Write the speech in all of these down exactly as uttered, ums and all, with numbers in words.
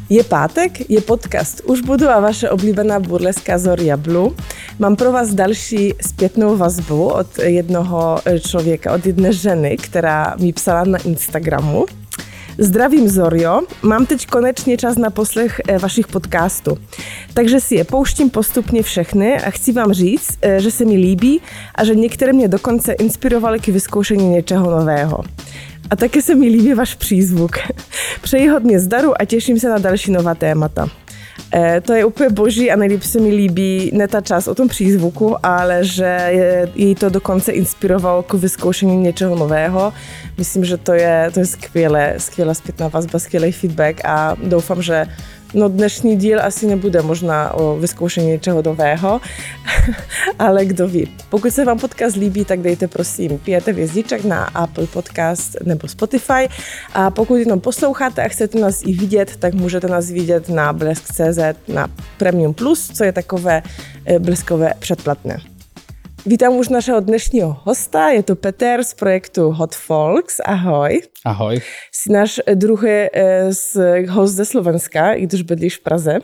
Je pátek, je podcast Už budu a vaše oblíbená burleska Zoria Blue. Mám pro vás další zpětnou vazbu od jednoho člověka, od jedné ženy, která mi psala na Instagramu. Zdravím Zorio, mám teď konečně čas na poslech vašich podcastů, takže si je pouštím postupně všechny a chci vám říct, že se mi líbí a že některé mě dokonce inspirovaly k vyzkoušení něčeho nového. A také se mi líbí váš přízvuk. Přeji hodně zdaru a těším se na další nová témata. E, to je úplně boží a nejlíp se mi líbí ne ta část o tom přízvuku, ale že je, jej to dokonce inspirovalo k vyzkoušení něčeho nového. Myslím, že to je, to je skvělé, skvělá zpětná vazba, skvělý feedback a doufám, že no dnešní díl asi nebude možná o vyzkoušení něčeho nového, ale kdo ví. Pokud se vám podcast líbí, tak dejte prosím pět hvězdiček na Apple Podcast nebo Spotify a pokud jenom posloucháte a chcete nás i vidět, tak můžete nás vidět na blesk tečka cé zet na Premium Plus, co je takové bleskové předplatné. Vítám už našeho dnešního hosta, je to Peter z projektu Hot Folks. Ahoj. Ahoj. Jsi náš druhý host ze Slovenska, i když bydlíš v Praze.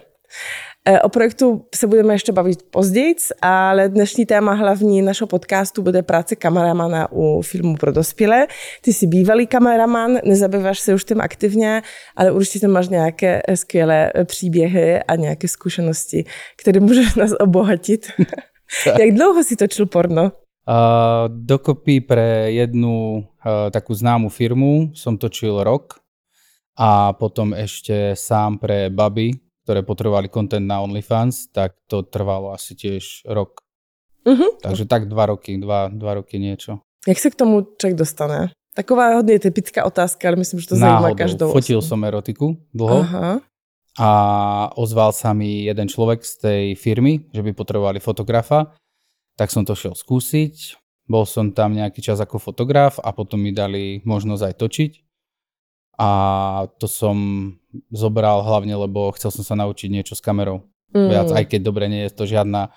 O projektu se budeme ještě bavit později, ale dnešní téma hlavní našeho podcastu bude práce kameramana u filmu pro dospělé. Ty jsi bývalý kameraman, nezabýváš se už tím aktivně, ale určitě máš nějaké skvělé příběhy a nějaké zkušenosti, které můžeš nás obohatit. Jak dlouho si točil porno? Uh, dokopy pre jednu uh, takú známu firmu som točil rok a potom ešte sám pre baby, ktoré potrebovali content na OnlyFans, tak to trvalo asi tiež rok. Uh-huh. Takže tak dva roky, dva, dva roky niečo. Jak se k tomu člověk dostane? Taková hodně typická otázka, ale myslím, že to zajímá Náhodou. každou. Fotil som erotiku dlho. Aha. A ozval sa mi jeden človek z tej firmy, že by potrebovali fotografa, tak som to šiel skúsiť. Bol som tam nejaký čas ako fotograf a potom mi dali možnosť aj točiť. A to som zobral hlavne, lebo chcel som sa naučiť niečo s kamerou. Mm. Viac, aj keď dobre nie je to žiadna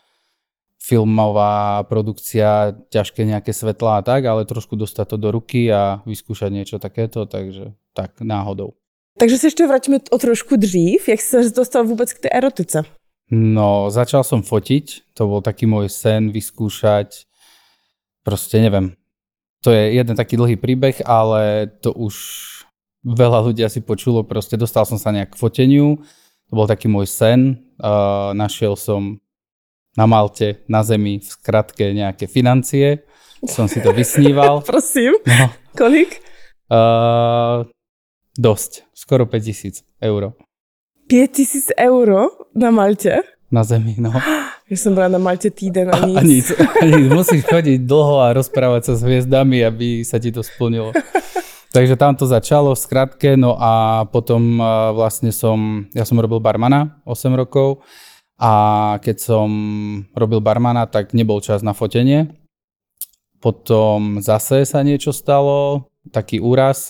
filmová produkcia, ťažké nejaké svetlá a tak, ale trošku dostať to do ruky a vyskúšať niečo takéto, takže tak náhodou. Takže se ještě vrátíme o trošku dřív. Jak jsi se dostal vůbec k té erotice? No, začal som fotiť. To bol taký môj sen vyskúšať. Proste neviem. To je jeden taký dlhý príbeh, ale to už veľa ľudí asi počulo. Proste dostal som sa nejak k foteniu. To bol taký môj sen. Uh, našiel som na Malte, na zemi, v skratke nejaké financie. Som si to vysníval. Prosím. No. Kolik? Uh, Dosť. Skoro päť tisíc eur. päť tisíc eur na Malte? Na zemi, no. Ja som bola na Malte týden a nic. A nic. A nic. Musíš chodiť dlho a rozprávať sa s hviezdami, aby sa ti to splnilo. Takže tam to začalo v skratke, no a potom vlastne som, ja som robil barmana osem rokov a keď som robil barmana, tak nebol čas na fotenie. Potom zase sa niečo stalo, taký úraz.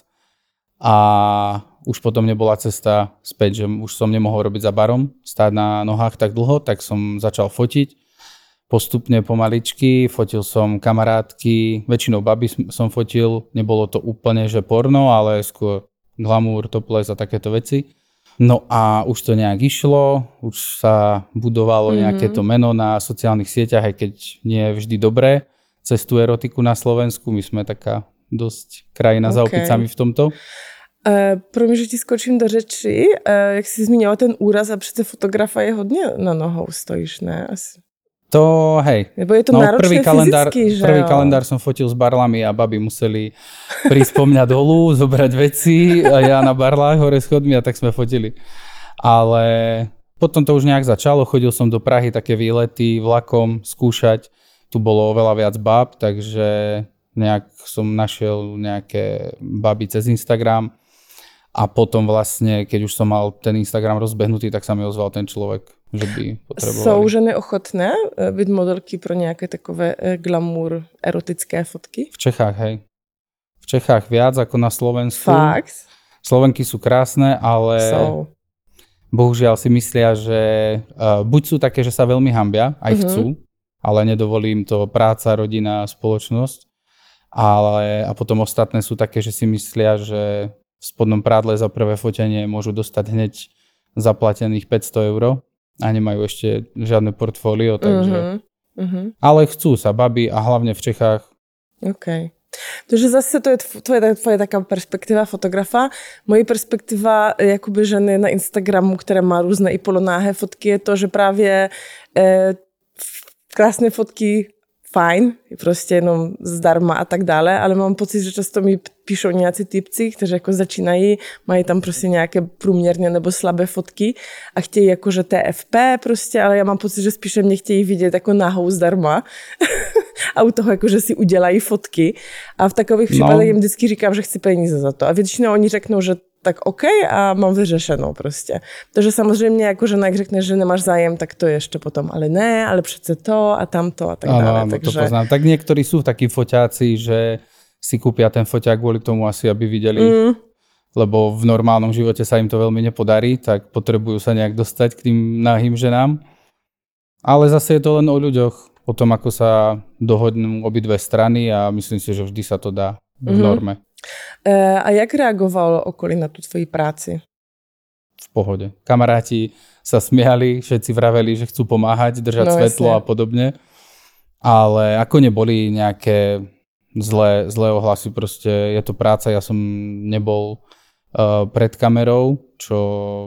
A už potom nebola cesta späť, že už som nemohol robiť za barom, stáť na nohách tak dlho, tak som začal fotiť. Postupne pomaličky, fotil som kamarátky, väčšinou baby som fotil, nebolo to úplne, že porno, ale skôr glamour, topless a takéto veci. No a už to nejak išlo, už sa budovalo mm-hmm. nejaké to meno na sociálnych sieťach, aj keď nie je vždy dobré. Cez tú erotiku na Slovensku, my sme taká dosť krajina okay. za opicami v tomto. Uh, pro mě, že ti skočím do řeči, uh, jak jsi zmínila ten úraz a přece fotografa je hodně na nohou stojíš, ne? Asi. To, hej. Nebo je to no, náročné prvý kalendár, fyzicky, že Prvý jo? kalendár som fotil s barlami a baby museli prísť po mňa dolu, zobrať veci a ja na barlách hore schodmi a tak sme fotili. Ale potom to už nejak začalo, chodil som do Prahy, také výlety vlakom, skúšať. Tu bolo oveľa viac báb, takže nejak som našiel nejaké baby cez Instagram a potom vlastne, keď už som mal ten Instagram rozbehnutý, tak sa mi ozval ten človek, že by potrebovali. Jsou ženy ochotné být modelky pro nějaké takové glamour erotické fotky? V Čechách, hej. V Čechách viac ako na Slovensku. Fakt? Slovenky sú krásne, ale jsou. Bohužiaľ si myslia, že uh, buď sú také, že sa veľmi hanbia, aj uh-huh. chcú, ale nedovolí im to práca, rodina, spoločnosť. Ale, a potom ostatné sú také, že si myslia, že v spodnom prádle za prvé fotenie môžu dostať hneď zaplatených päťsto eur a nemajú ešte žiadne portfólio, takže... Mm-hmm. Ale chcú sa babi a hlavne v Čechách. OK. Takže zase to je tvoje, tvoje taká perspektiva fotografa. Moje perspektiva jakoby ženy na Instagramu, která má různé i polonáhé fotky, je to, že právě eh, krásné fotky fajn, prostě jenom zdarma a tak dále, ale mám pocit, že často mi píšou nějací typci, kteří jako začínají, mají tam prostě nějaké průměrně nebo slabé fotky a chtějí jakože T F P prostě, ale já mám pocit, že spíše mě chtějí vidět jako nahou zdarma a u toho jakože si udělají fotky a v takových případech no. jim vždycky říkám, že chci peníze za to a většinou oni řeknou, že tak OK a mám vyřešenou prostě. Takže samozřejmě jako žena, jak řekne, že nemáš zájem, tak to je ještě potom, ale ne, ale přece to a tamto a tak ano, dále. Áno, takže... to poznám. Tak niektorí sú takí foťáci, že si kúpia ten foťák kvôli tomu asi, aby videli, mm. lebo v normálnom živote sa im to veľmi nepodarí, tak potrebujú sa nejak dostať k tým nahým ženám. Ale zase je to len o ľuďoch, o tom, ako sa dohodnú obidve strany a myslím si, že vždy sa to dá v mm. norme. A jak reagovalo okolí na tú tvoji práci? V pohode. Kamaráti sa smiali, všetci vraveli, že chcú pomáhať, držať no, svetlo jasne. A podobne. Ale ako neboli nejaké zlé, zlé ohlasy, proste je to práca, ja som nebol uh, pred kamerou, čo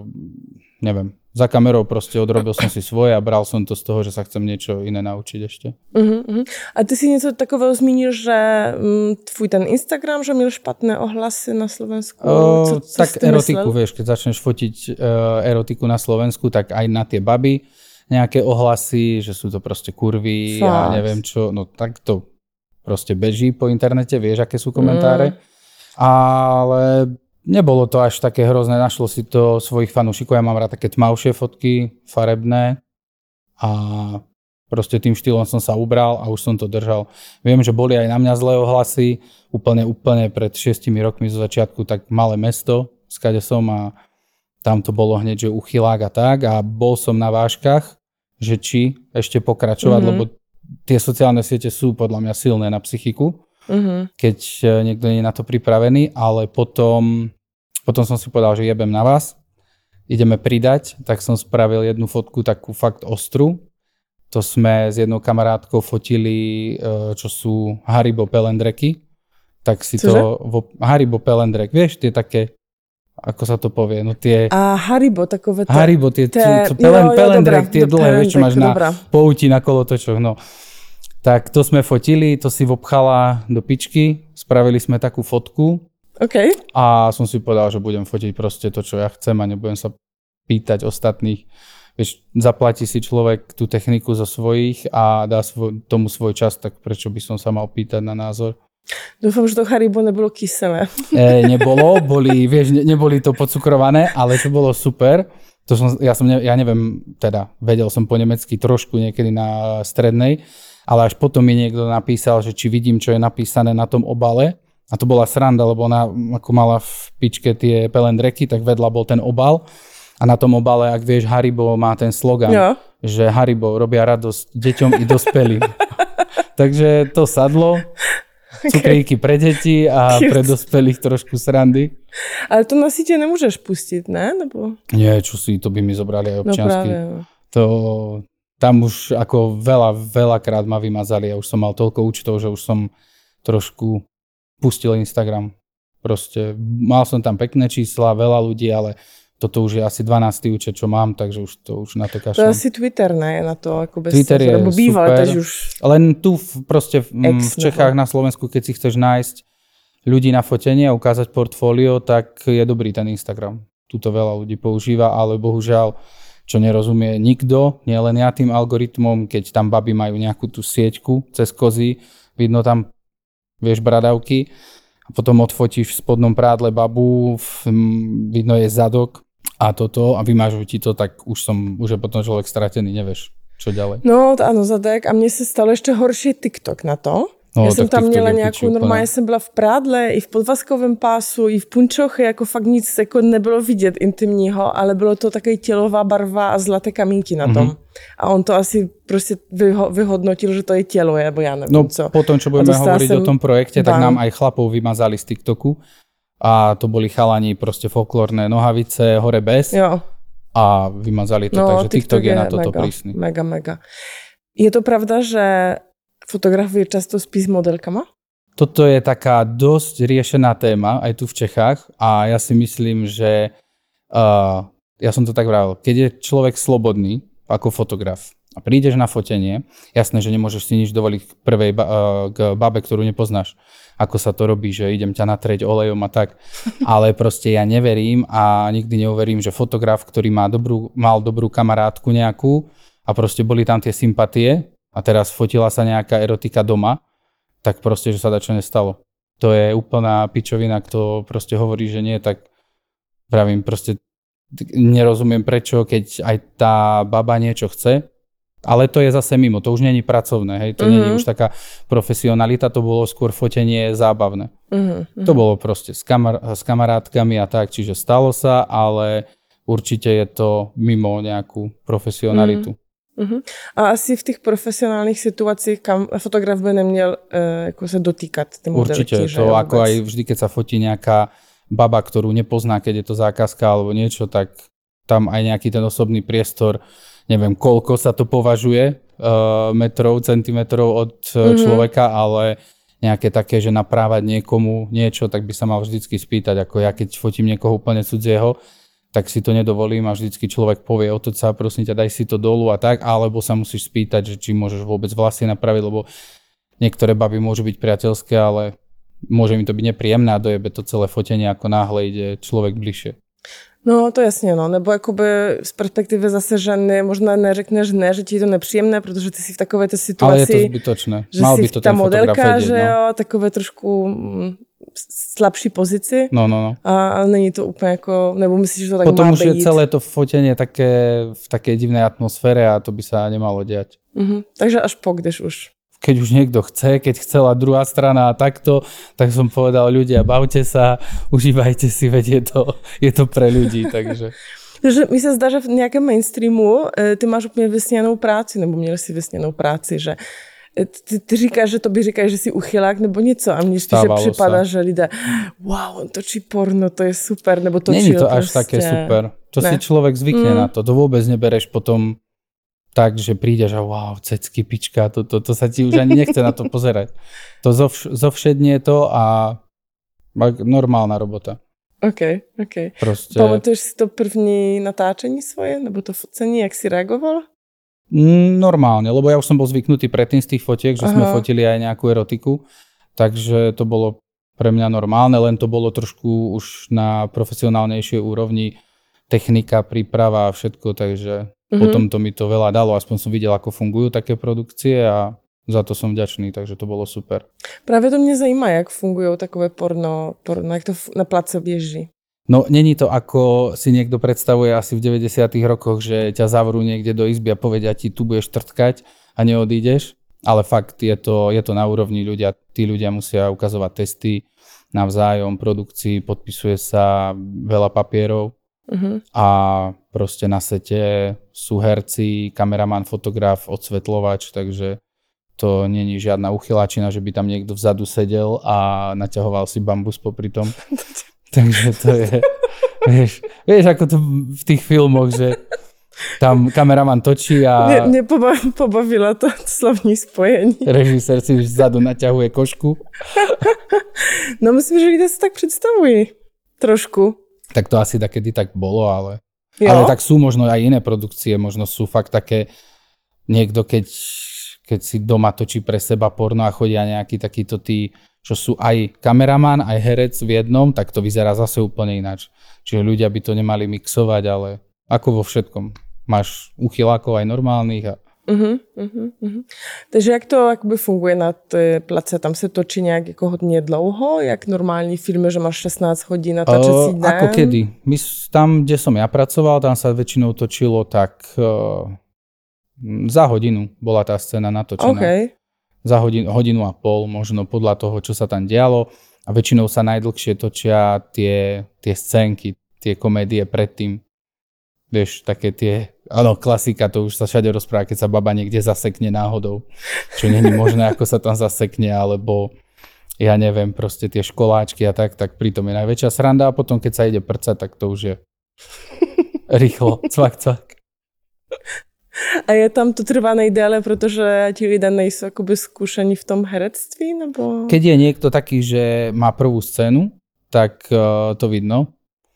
neviem. Za kamerou proste odrobil som si svoje a bral som to z toho, že sa chcem niečo iné naučiť ešte. Uh-huh, uh-huh. A ty si něco takového zmínil, že um, tvůj ten Instagram, že měl špatné ohlasy na Slovensku? Uh, co, co tak erotiku, myslel? Vieš, keď začneš fotiť uh, erotiku na Slovensku, tak aj na tie baby nejaké ohlasy, že sú to proste kurvy a ja neviem čo. No tak to proste beží po internete, vieš, aké sú komentáre. Mm. Ale... Nebolo to až také hrozné, našlo si to svojich fanúšikov, ja mám rád také tmavšie fotky, farebné a proste tým štýlom som sa ubral a už som to držal. Viem, že boli aj na mňa zlé ohlasy, úplne, úplne pred šiestimi rokmi zo začiatku tak malé mesto, skade som a tam to bolo hneď, že uchylák a tak a bol som na vážkach, že či ešte pokračovať, mm-hmm. lebo tie sociálne siete sú podľa mňa silné na psychiku. Uh-huh. Keď niekto nie je na to pripravený, ale potom, potom som si povedal, že jebem na vás, ideme pridať, tak som spravil jednu fotku takú fakt ostru. To sme s jednou kamarátkou fotili, čo sú Haribo pelendreky. Tak si Cože? to... Vo, Haribo pelendrek, vieš, tie také, ako sa to povie, no tie... A Haribo, takové... Te, Haribo, tie, te, tie pelen, jo, jo, pelendrek, dobrá, tie dlhé, vieš, čo máš dobrá. na pouti, na kolotočoch, no. Tak to sme fotili, to si vopchala do pičky, spravili sme takú fotku okay. a som si povedal, že budem fotiť proste to, čo ja chcem a nebudem sa pýtať ostatných. Vieš, zaplatí si človek tú techniku zo svojich a dá svoj, tomu svoj čas, tak prečo by som sa mal pýtať na názor? Dúfam, že to Haribo nebolo kyselé. E, nebolo, boli, vieš, ne, neboli to podcukrované, ale to bolo super. To som, ja, som ne, ja neviem, teda vedel som po nemecky trošku niekedy na strednej, ale až potom mi niekto napísal, že či vidím, čo je napísané na tom obale. A to bola sranda, lebo ona ako mala v pičke tie pelendreky, tak vedľa bol ten obal. A na tom obale, ak vieš, Haribo má ten slogan, jo. že Haribo robia radosť deťom i dospelým. Takže to sadlo. Cukríky pre deti a Cute. Pre dospelých trošku srandy. Ale to na sítě nemôžeš pustiť, ne? Nebo... Nie, čo si, to by mi zobrali aj občiansky. No práve. To... Tam už ako veľa, veľakrát ma vymazali a už som mal toľko účtov, že už som trošku pustil Instagram. Proste mal som tam pekné čísla, veľa ľudí, ale toto už je asi dvanásty účet, čo mám, takže už to už na to kašľam. To asi Twitter, ne? Na to ako bez Twitter je býval, super, už... len tu v, proste v, v Čechách, na Slovensku, keď si chceš nájsť ľudí na fotenie a ukázať portfólio, tak je dobrý ten Instagram. Tuto veľa ľudí používa, ale bohužiaľ čo nerozumie nikto, nie len ja tým algoritmom, keď tam baby majú nejakú tú sieťku cez kozy, vidno tam, vieš, bradavky a potom odfotíš v spodnom prádle babu, v, vidno je zadok a toto a vymážu ti to, tak už som, už je potom človek stratený, nevieš, čo ďalej. No, áno, zadek a mne sa stalo ešte horší TikTok na to. No, já jsem tam měla nějakou, normálně jsem byla v prádle, i v podvazkovém pásu, i v punčochy, jako fakt nic jako nebylo vidět intimního, ale bylo to takový tělová barva a zlaté kamínky na tom. Mm-hmm. A on to asi prostě vyho- vyhodnotil, že to je tělo, nebo já nevím no, co. No potom, čo budeme hovoriť o tom projekte, tak nám aj chlapov vymazali z TikToku a to boli chalani proste folklórne nohavice, hore bez. Jo. a vymazali to, no, takže TikTok, TikTok je na toto mega, prísny. Mega, mega. Je to pravda, že fotografuje často spí s modelkama? Toto je taká dosť riešená téma aj tu v Čechách a ja si myslím, že uh, ja som to tak vravil, keď je človek slobodný ako fotograf a prídeš na fotenie, jasné, že nemôžeš si nič dovoliť k prvej ba- uh, k babe, ktorú nepoznáš, ako sa to robí, že idem ťa natrieť olejom a tak, ale proste ja neverím a nikdy neuverím, že fotograf, ktorý má dobrú, mal dobrú kamarátku nejakú a proste boli tam tie sympatie a teraz fotila sa nejaká erotika doma, tak proste, že sa dačo nestalo. To je úplná pičovina, kto proste hovorí, že nie, tak pravím, proste nerozumiem prečo, keď aj tá baba niečo chce, ale to je zase mimo, to už nie je pracovné, hej, to mm-hmm. nie je už taká profesionalita, to bolo skôr fotenie zábavné. Mm-hmm. To bolo proste s, kamar- s kamarátkami a tak, čiže stalo sa, ale určite je to mimo nejakú profesionalitu. Mm-hmm. Uh-huh. A asi v těch profesionálních situacích, kam fotograf by neměl uh, jako se dotýkat ty modelky. Určite, že to jo, ako aj vždy, keď sa fotí nejaká baba, ktorú nepozná, keď je to zákazka alebo niečo, tak tam aj nejaký ten osobný priestor, neviem, koľko sa to považuje uh, metrov, centimetrov od uh, človeka, uh-huh. ale nejaké také, že naprávať niekomu niečo, tak by sa mal vždycky spýtať, ako ja keď fotím niekoho úplne cudzieho, tak si to nedovolím a vždycky človek povie, otoč sa, prosím ťa, daj si to dolu a tak, alebo sa musíš spýtať, že či môžeš vôbec vlasy napraviť, lebo niektoré baby môžu byť priateľské, ale môže mi to byť nepríjemné a dojebe to celé fotenie, ako náhle ide človek bližšie. No to jasně, no, nebo jakoby z perspektivy zase ženy možná neřekneš ne, že ti je to nepříjemné, protože ty si v takové té situaci, ale je to zbytočné. Že Mal si by to ta ten modelka, fotograf vedieť, že no. jo, takové trošku slabší pozici. No, no, no. A, a není to úplně jako, nebo myslíš, že to tak potom má už být? je celé to fotenie také, v takej divnej atmosfére a to by sa nemalo diať. Uh-huh. Takže až po, když už. Keď už niekto chce, keď chcela druhá strana a takto, tak som povedal ľudia, bavte sa, užívajte si, veď je to, je to pre ľudí, takže... Takže mi se zdá, že v nějakém mainstreamu ty máš úplně vysněnou práci, nebo měl si vysněnou práci, že ty, ty říkáš, že to by říkáš, že jsi uchylák nebo něco a mně spíše připadá, že lidé, wow, on točí porno, to je super, nebo točil Není to prostě. až také super. To ne. si človek zvykne mm. na to. To vôbec nebereš potom tak, že prídeš a wow, cecky, pička, to, to, to sa ti už ani nechce na to pozerať. To zovš- zovšednie to a normálna robota. OK, OK. Proste... Pamatuješ si to první natáčení svoje, nebo to focení, jak si reagoval? Normálne, lebo ja už som bol zvyknutý predtým z tých fotiek, že Aha. sme fotili aj nejakú erotiku, takže to bolo pre mňa normálne, len to bolo trošku už na profesionálnejšej úrovni, technika, príprava a všetko, takže mm-hmm. potom to mi to veľa dalo, aspoň som videl, ako fungujú také produkcie a za to som vďačný, takže to bolo super. Právě to mě zajímá, jak fungují takové porno, porno jak to na place běží. No, není to ako si niekto predstavuje asi v deväťdesiatych rokoch, že ťa zavrú niekde do izby a povedia ti, tu budeš trtkať a neodídeš, ale fakt je to, je to na úrovni ľudia, tí ľudia musia ukazovať testy navzájom, produkcii, podpisuje sa veľa papierov uh-huh. a proste na sete sú herci, kameraman, fotograf, odsvetľovač, takže to není žiadna uchyláčina, že by tam niekto vzadu sedel a naťahoval si bambus popri tom. Takže to je, vieš, vieš, ako to v tých filmoch, že tam kameraman točí a... Mě, mě pobav, pobavila to slovní spojení. Režisér si vzadu naťahuje košku. No myslím, že lidé si tak představují. Trošku. Tak to asi takedy tak bolo, ale... Jo? Ale tak sú možno aj iné produkcie, možno sú fakt také... Niekto, keď, keď si doma točí pre seba porno a chodia nejakí takíto tí... čo sú aj kameraman, aj herec v jednom, tak to vyzerá zase úplne ináč. Čiže ľudia by to nemali mixovať, ale ako vo všetkom. Máš uchylákov aj normálnych. A... Uh-huh, uh-huh, uh-huh. Takže jak to jakoby funguje na té place? Tam se točí nějak jako hodně dlouho? Jak normální filmy, že máš šestnásť hodín natáčecí den? Ako kedy? My tam, kde som ja pracoval, tam sa väčšinou točilo tak uh, za hodinu bola tá scéna natočená. Okay. Za hodinu, hodinu a pol, možno podľa toho, čo sa tam dialo. A väčšinou sa najdlhšie točia tie, tie scénky, tie komédie predtým. Vieš, také tie, áno, klasika, to už sa všade rozpráva, keď sa baba niekde zasekne náhodou. Čo není možné, ako sa tam zasekne, alebo ja neviem, proste tie školáčky a tak, tak pritom je najväčšia sranda a potom, keď sa ide prcať, tak to už je rýchlo, cvak, cvak. A je tam to trvá nejdéle, protože ti lidé nejsou akoby skúšení v tom herectví? Nebo... Keď je niekto taký, že má prvú scénu, tak uh, to vidno.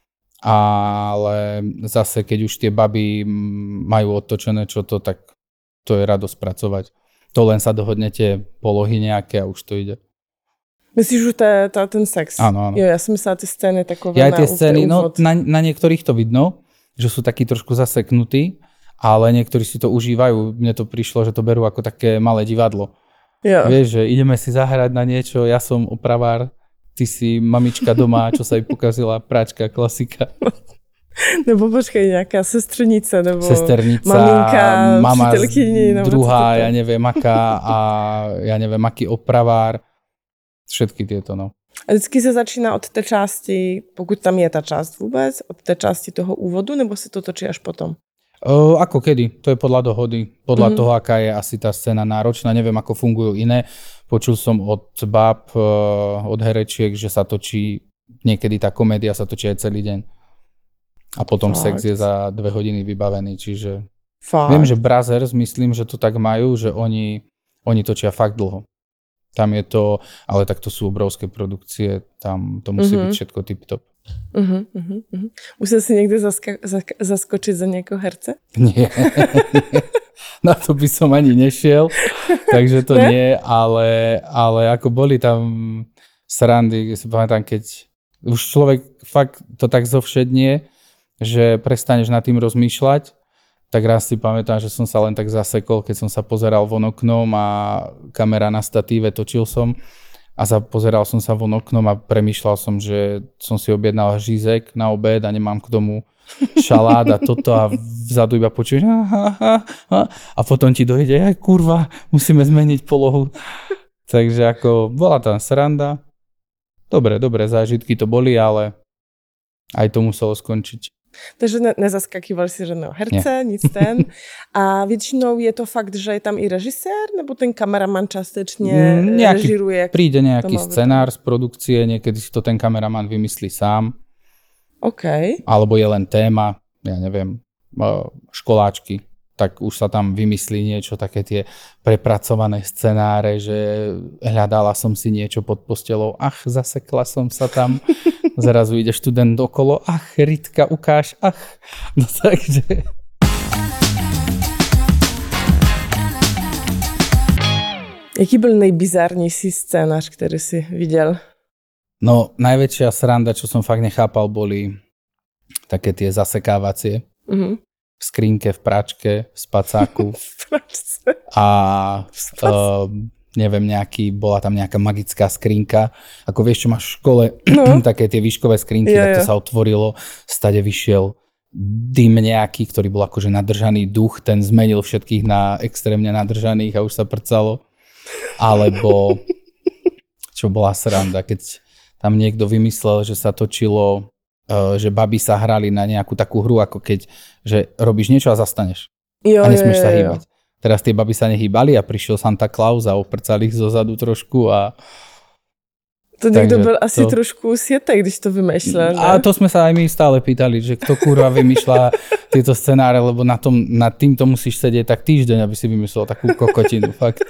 Ale zase, keď už tie baby majú otočené čo to, tak to je radosť pracovať. To len sa dohodnete polohy nejaké a už to ide. Myslíš, že to je to, ten sex? Áno, áno. Jo, ja som myslela tie scény takové Ja na tie scény, no úvod. na, na niektorých to vidno, že sú takí trošku zaseknutí, ale niektorí si to užívajú. Mne to prišlo, že to berú ako také malé divadlo. Jo. Vieš, že ideme si zahrať na niečo, ja som opravár, ty si mamička doma, čo sa jej pokazila, práčka, klasika. Nebo počkej, nejaká sestrnice, nebo Sesternica, maminka, mama přítelkyni, nebo druhá, co to ja neviem aká a ja neviem aký opravár. Všetky tieto, no. A vždycky se začíná od té části, pokud tam je ta část vůbec, od té části toho úvodu, nebo se to točí až potom? O, ako kedy? To je podľa dohody. Podľa Mhm. toho, aká je asi tá scéna náročná. Neviem, ako fungujú iné. Počul som od bab, od herečiek, že sa točí, niekedy tá komédia sa točí aj celý deň. A potom Fakt? sex je za dve hodiny vybavený, čiže... Fakt. Viem, že Brothers, myslím, že to tak majú, že oni, oni točia fakt dlho. Tam je to, ale tak to sú obrovské produkcie, tam to musí Mhm. byť všetko tip-top. Uh-huh, uh-huh, uh-huh. Musel si někde zaska- zask- zaskočit za někoho herce? Nie, na to by som ani nešiel, takže to Ne? nie, ale, ale ako boli tam srandy, si pamätám, keď už človek fakt to tak zovšednie, že prestaneš nad tým rozmýšľať, tak raz si pamätám, že som sa len tak zasekol, keď som sa pozeral von oknom a kamera na statíve, točil som a za, pozeral som sa von oknom a premýšľal som, že som si objednal žízek na obed a nemám k tomu šalát a toto a vzadu iba počuješ a potom ti dojde, aj kurva, musíme zmeniť polohu. Takže ako bola tam sranda. Dobre, dobré zážitky to boli, ale aj to muselo skončiť. Takže ne- nezaskakýval si žádného herce, nic ten. A většinou je to fakt, že je tam i režisér, nebo ten kameraman částečně Mm, nejaký režíruje? Príde nejaký to má scenár z produkcie, niekedy si to ten kameraman vymyslí sám, OK. alebo je len téma, ja neviem, školáčky, tak už sa tam vymyslí niečo, také tie prepracované scenáre, že hľadala som si niečo pod postelou, ach, zasekla som sa tam, zrazu ide študent okolo, ach, Ritka, ukáž, ach. No takže... Jaký byl nejbizárnější scénář, který jsi viděl? No, najväčšia sranda, čo som fakt nechápal, boli také tie zasekávacie Mhm. v skrinke, v pračke, v spacáku Pračce. a uh, neviem, nejaký, bola tam nejaká magická skrinka. Ako vieš, čo máš v škole, No. také tie výškové skrinky, Jo, tak to jo. sa otvorilo, stade vyšiel dym nejaký, ktorý bol akože nadržaný duch, ten zmenil všetkých na extrémne nadržaných a už sa prcalo. Alebo, čo bola sranda, keď tam niekto vymyslel, že sa točilo, uh, že baby sa hrali na nejakú takú hru, ako keď, že robíš niečo a zastaneš. Jo, A nesmieš jo, sa jo, jo. hýbať. Teraz tie baby sa nehýbali a prišiel Santa Claus a oprcal ich zozadu trošku a... To někdo Takže byl asi to- trošku světek, když to vymýšlel. A ne? to sme sa aj my stále pýtali, že kto kurva vymýšľa tieto scenáre, lebo na tom, nad týmto musíš sedieť tak týždeň, aby si vymyslel takú kokotinu, fakt.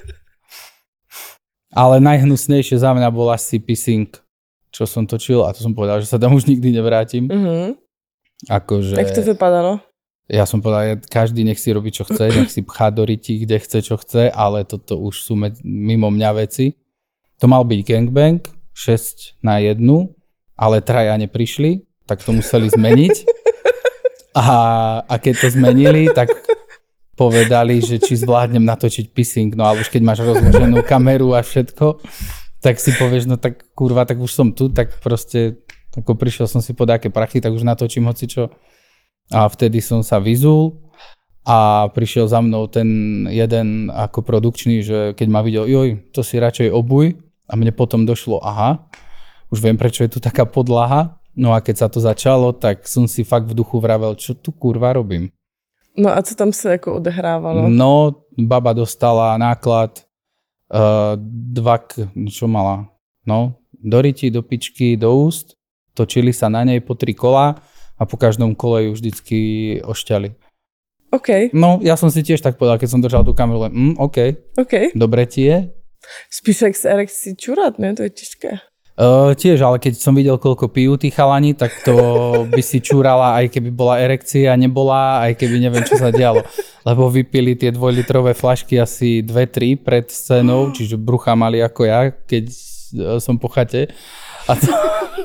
Ale najhnusnejšie za mňa bol asi Pissing, čo som točil a to som povedal, že sa tam už nikdy nevrátim. Mhm. Akože... Jak to vypadalo? Ja som povedal, každý nech si robí, čo chce, nech si pchá do rytí, kde chce, čo chce, ale toto už sú med- mimo mňa veci. To mal byť gangbang, šesť na jednu, ale traja neprišli, tak to museli zmeniť. A, a keď to zmenili, tak povedali, že či zvládnem natočiť pissing, no ale už keď máš rozloženú kameru a všetko, tak si povieš, no tak kurva, tak už som tu, tak proste, ako prišiel som si po dáke prachy, tak už natočím hocičo. A vtedy som sa vyzul a prišiel za mnou ten jeden ako produkčný, že keď ma videl, joj, to si radšej obuj. A mne potom došlo, aha, už viem, prečo je tu taká podlaha. No a keď sa to začalo, tak som si fakt v duchu vravel, čo tu kurva robím. No a co tam se jako odehrávalo? No, baba dostala náklad uh, dva, k- čo mala? No, do ryti, do pičky, do úst. Točili sa na nej po tri kola a po každom kole ju vždycky ošťali. OK. No, ja som si tiež tak povedal, keď som držal tú kameru, len, mm, OK, OK. dobre ti je. Spíš jak s erekcí čurat, ne? To je těžké. Uh, tiež, ale keď som videl, koľko pijú tí chalani, tak to by si čúrala, aj keby bola erekcia, nebola, aj keby neviem, čo sa dialo. Lebo vypili tie dvojlitrové flašky asi dve tri pred scénou, čiže brucha mali ako ja, keď som po chate. A to...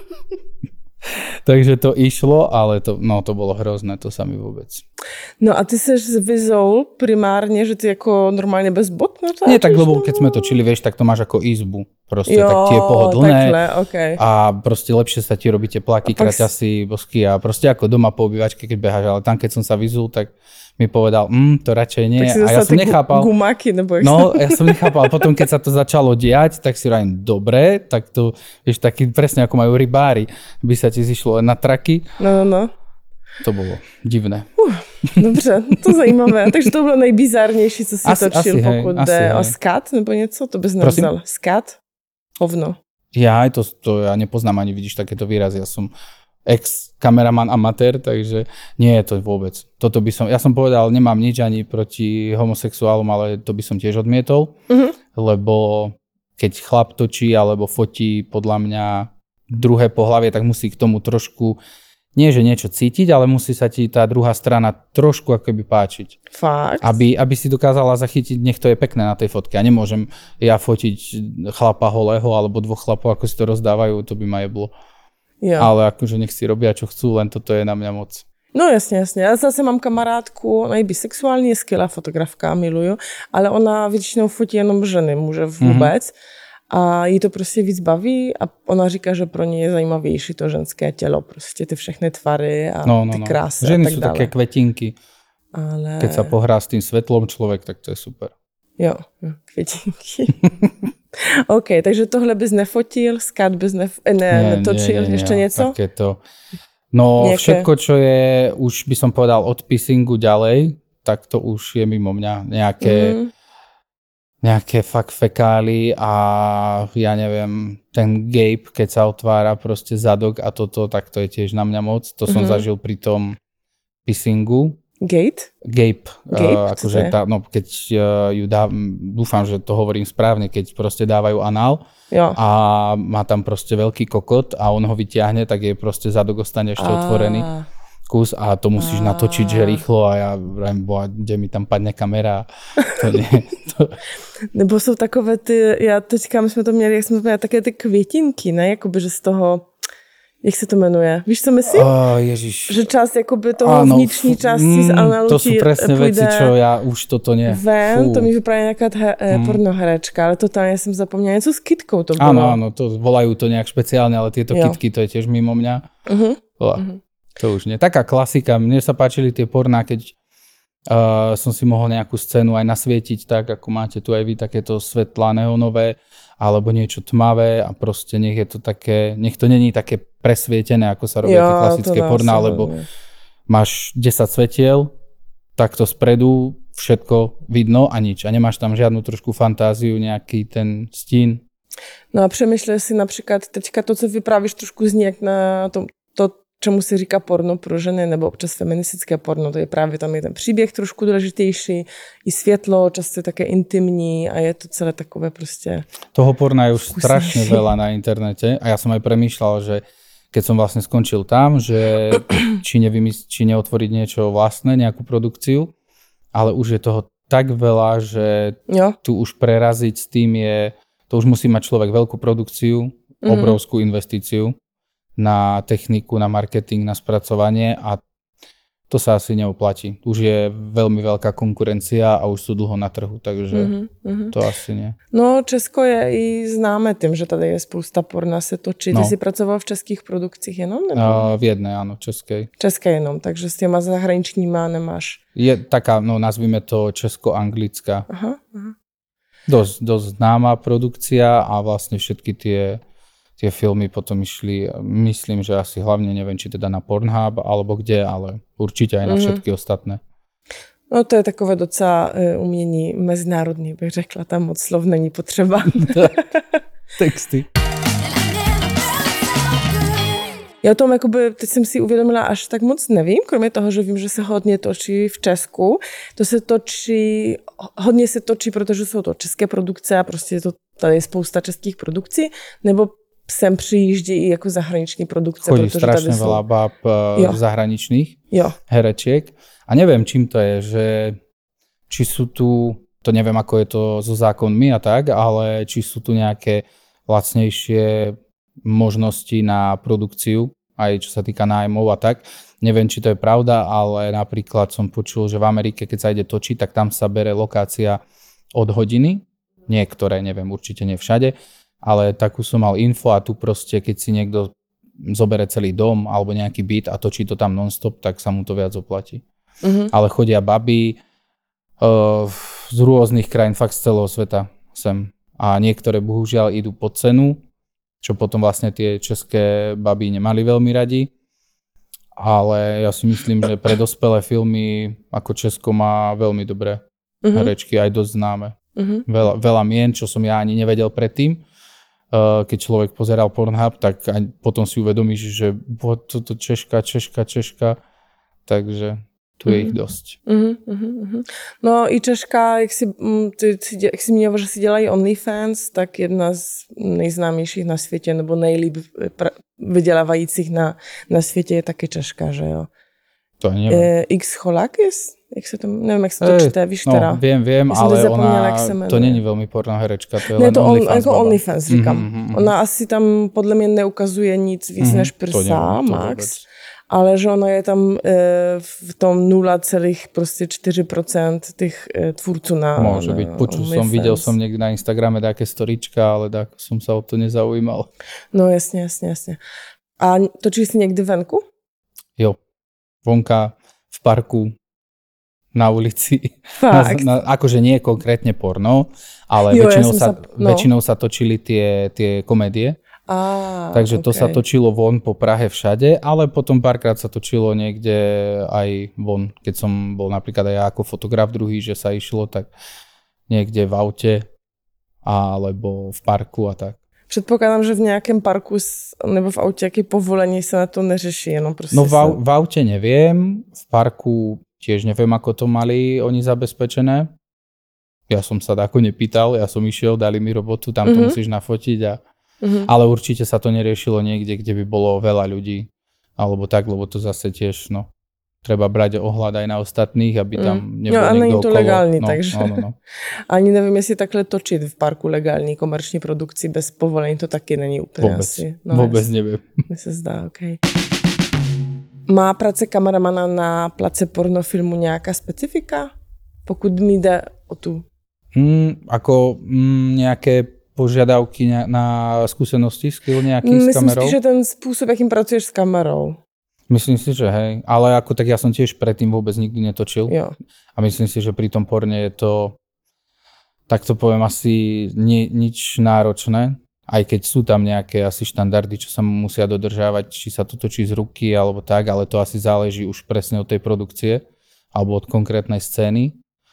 Takže to išlo, ale to, no, to bolo hrozné, to sa mi vôbec. No a ty seš vyzol primárne, že ty ako normálne bez bot natáčaš? Nie tak, lebo keď sme točili, vieš, tak to máš ako izbu. Proste jo, tak ti je pohodlné takhle, okay. A proste lepšie sa ti robí tie plaky, kraťasy, bosky a proste ako doma po obývačke, keď beháš, ale tam keď som sa vyzul, tak mi povedal, mm, to radšej nie. A ja som nechápal. Gumáky, nebo no, ja som nechápal. Potom, keď sa to začalo diať, tak si rájem, dobre, tak to, vieš, taký presne ako majú rybári, by sa ti zišlo na traky. No, no, no. To bylo divné. Uh, dobře, to zajímavé. Takže to bylo nejbizarnější, co jsi asi, točil, asi, pokud hej, jde o skat nebo něco, to bys nevzal. Skat? Hovno. Ja aj to, to ja nepoznám ani, vidíš, takéto výrazy. Ja som ex-kameraman amatér, takže nie je to vôbec. Toto by som, ja som povedal, nemám nič ani proti homosexuálom, ale to by som tiež odmietol, uh-huh. lebo keď chlap točí alebo fotí podľa mňa druhé pohlavie, tak musí k tomu trošku, nie že niečo cítiť, ale musí sa ti tá druhá strana trošku akoby páčiť. Fakt? Aby, aby si dokázala zachytiť, nech to je pekné na tej fotke. A nemôžem ja fotiť chlapa holého alebo dvoch chlapov, ako si to rozdávajú, to by ma jeblo. Jo. Ale akože nech si robia, čo chcú, len toto je na mňa moc. No jasně, jasně. Já zase mám kamarádku, ona je bisexuální, je skvělá fotografka, miluju, ale ona většinou fotí jenom ženy, muže vůbec. Mm-hmm. A jí to prostě víc baví a ona říká, že pro ně je zajímavější to ženské tělo, prostě ty všechny tvary a no, no, ty no. krásy Ženy a tak sú dále. také kvetinky. Ale... Keď sa pohrá s tým svetlom človek, tak to je super. Jo, jo květinky. OK, takže tohle bys nefotil, skat bys nef- ne, nie, netočil, nie, nie, ještě nie, něco? Takéto. No Nejaké... všetko, čo je, už by som povedal od pissingu ďalej, tak to už je mimo mňa. Nejaké, mm. nejaké fakt fekály a ja neviem, ten gape, keď sa otvára proste zadok a toto, tak to je tiež na mňa moc. To som mm. zažil pri tom pissingu. Gate? Gape. Gape? Uh, akože tá, no, keď uh, ju dá, dúfam, že to hovorím správne, keď proste dávajú anál jo. A má tam proste veľký kokot a on ho vyťahne, tak je proste zadok ostane ešte a... otvorený kus a to musíš a... natočiť, že rýchlo a ja vrajím, boha, kde mi tam padne kamera. To nie, to... Nebo jsou takové ty, já teďka, my jsme to měli, jak jsme to měli, také ty květinky, ne? Jakoby, že z toho... Jak se to jmenuje? Víš, co myslím? Oh, Ježiš. Že část jakoby toho ano, vnitřní části mm, z analu to sú presne veci, čo ja už toto nie. Ven, Fú. To mi vypadá nějaká he, mm. pornoherečka, ale totálně jsem zapomněla. Něco s kytkou to bylo. Áno, áno, to volajú to nejak špeciálne, ale tieto jo. Kytky, to je tiež mimo mňa. Uh-huh. Uh-huh. To už nie. Taká klasika. Mne sa páčili tie porná, keď uh, som si mohol nejakú scénu aj nasvietiť tak, ako máte tu aj vy, takéto svetlá neonové, alebo niečo tmavé a proste nech je to také, nech to není také presvietené, ako sa robia tie klasické porná, lebo máš desať svetiel, takto spredu všetko vidno a nič. A nemáš tam žádnou trošku fantáziu, nějaký ten stín. No a přemýšlej si například teďka to, co vyprávíš, trošku zní jak na to, to čemu se říká porno pro ženy, nebo občas feministické porno, to je právě tam je ten příběh trošku důležitější, i světlo, často je také intimní a je to celé takové prostě... Toho porna je už strašne veľa na internete a ja som aj premýšľal, že keď som vlastne skončil tam, že či, nevymysl- či neotvoriť niečo vlastné, nejakú produkciu, ale už je toho tak veľa, že jo. Tu už preraziť s tým je, to už musí mať človek veľkú produkciu, mm-hmm. obrovskú investíciu na techniku, na marketing, na spracovanie a to sa asi neoplatí. Už je veľmi veľká konkurencia a už sú dlho na trhu, takže mm-hmm. to asi nie. No, Česko je i známe tím, že tady je spousta porna se točí. No. Ty jsi pracoval v českých produkcích jenom? Nebo? Uh, v jednej, áno, českej. České jenom, takže s těma zahraničníma nemáš? Je taká, no nazvime to česko-anglická. Aha, aha. Dosť, dosť známa produkcia a vlastne všetky tie Tie filmy potom išli, myslím, že asi hlavne, neviem, či teda na Pornhub alebo kde, ale určite aj na všetky mm-hmm. ostatné. No to je takové docela umění mezinárodní, bych řekla, tam moc slov není potřeba. Texty. Já o tom, jakoby, teď jsem si uvědomila, až tak moc nevím, kromě toho, že vím, že se hodně točí v Česku. To se točí, hodně se točí, protože jsou to české produkce a prostě to, tady je spousta českých produkcí, nebo sem přijíždí i jako zahraniční produkce. Chodí strašne jsou... veľa báb jo. zahraničných jo. herečiek. A neviem, čím to je, že či sú tu, to neviem, ako je to so zákonmi a tak, ale či sú tu nejaké lacnejšie možnosti na produkciu, aj čo sa týka nájmov a tak. Neviem, či to je pravda, ale napríklad som počul, že v Amerike, keď sa ide točiť, tak tam sa bere lokácia od hodiny. Niektoré, neviem, určite nie všade, ale takú som mal info a tu proste, keď si niekto zobere celý dom alebo nejaký byt a točí to tam non-stop, tak sa mu to viac oplatí. Mm-hmm. Ale chodia baby uh, z rôznych krajín, fakt z celého sveta sem. A niektoré bohužiaľ idú pod cenu, čo potom vlastne tie české baby nemali veľmi radi. Ale ja si myslím, že pre dospelé filmy ako Česko má veľmi dobré uh-huh. herečky, aj dosť známe. Uh-huh. Veľa, veľa mien, čo som ja ani nevedel predtým. Uh, keď človek pozeral Pornhub, tak aj potom si uvedomíš, že toto Češka, Češka, Češka. Takže tu je mm-hmm. ich dosť. Mm-hmm, mm-hmm. No i Češka, jak si, ty, jak si měl, že si dělají OnlyFans, tak jedna z nejznámějších na světě, nebo nejlíp vydělávajících na, na světě je taky Češka, že jo? To nevím. E, X Cholakis? Jak se to, nevím, jak se to čte, víš no, teda? Vím, vím, ale ona, to není velmi porno herečka, to je ne, len to OnlyFans. On, jako baba. OnlyFans, říkám. Mm-hmm. Ona asi tam podle mě neukazuje nic víc mm-hmm. než prsa, max. Ale že ona je tam e, v tom nula celá čtyři procenta těch e, tvůrců na Môže byť. Počul som, videl som niekde na Instagrame také storička, ale tak som sa o to nezaujímal. No jasně, jasně, jasně. A točíš si někdy venku? Jo. Vonka, v parku, na ulici. Fakt? Na, na, akože nie konkrétne porno, ale jo, väčšinou, ja sa, sa, no. väčšinou sa točili tie, tie komédie. Á, Takže to okay. sa točilo von po Prahe všade, ale potom párkrát sa točilo niekde aj von. Keď som bol napríklad aj ja ako fotograf druhý, že sa išlo tak niekde v aute alebo v parku a tak. Předpokládám, že v nějakém parku nebo v autě jaký povolení se na to neřeší, jenom prostě... No v, sa... v aute neviem, v parku tiež neviem, ako to mali oni zabezpečené. Ja som sa tako nepýtal, ja som išiel, dali mi robotu, tam to mm-hmm. musíš nafotiť a Uh-huh. Ale určite sa to neriešilo niekde, kde by bolo veľa ľudí, alebo tak, lebo to zase tiež, no, treba brať ohľad aj na ostatných, aby tam mm. nebol no, niekto okolo. No, a není to legální, no, takže. No, no, no. Ani nevím, jestli takhle točit v parku legální komerční produkci bez povolení, to taky není úplně vůbec, asi. No, vůbec nevím. Mi se zdá, okej. Okay. Má práce kameramana na place pornofilmu nějaká specifika? Pokud mi jde o tu. Mm, ako mm, nejaké požiadavky na skúsenosti, skill nejaký Myslím s kamerou? Myslím si, že ten spôsob, akým pracuješ s kamerou. Myslím si, že hej. Ale ako tak ja som tiež predtým vôbec nikdy netočil. Jo. A myslím si, že pri tom porne je to, tak to poviem, asi ni, nič náročné. Aj keď sú tam nejaké asi štandardy, čo sa musia dodržávať, či sa to točí z ruky alebo tak, ale to asi záleží už presne od tej produkcie alebo od konkrétnej scény.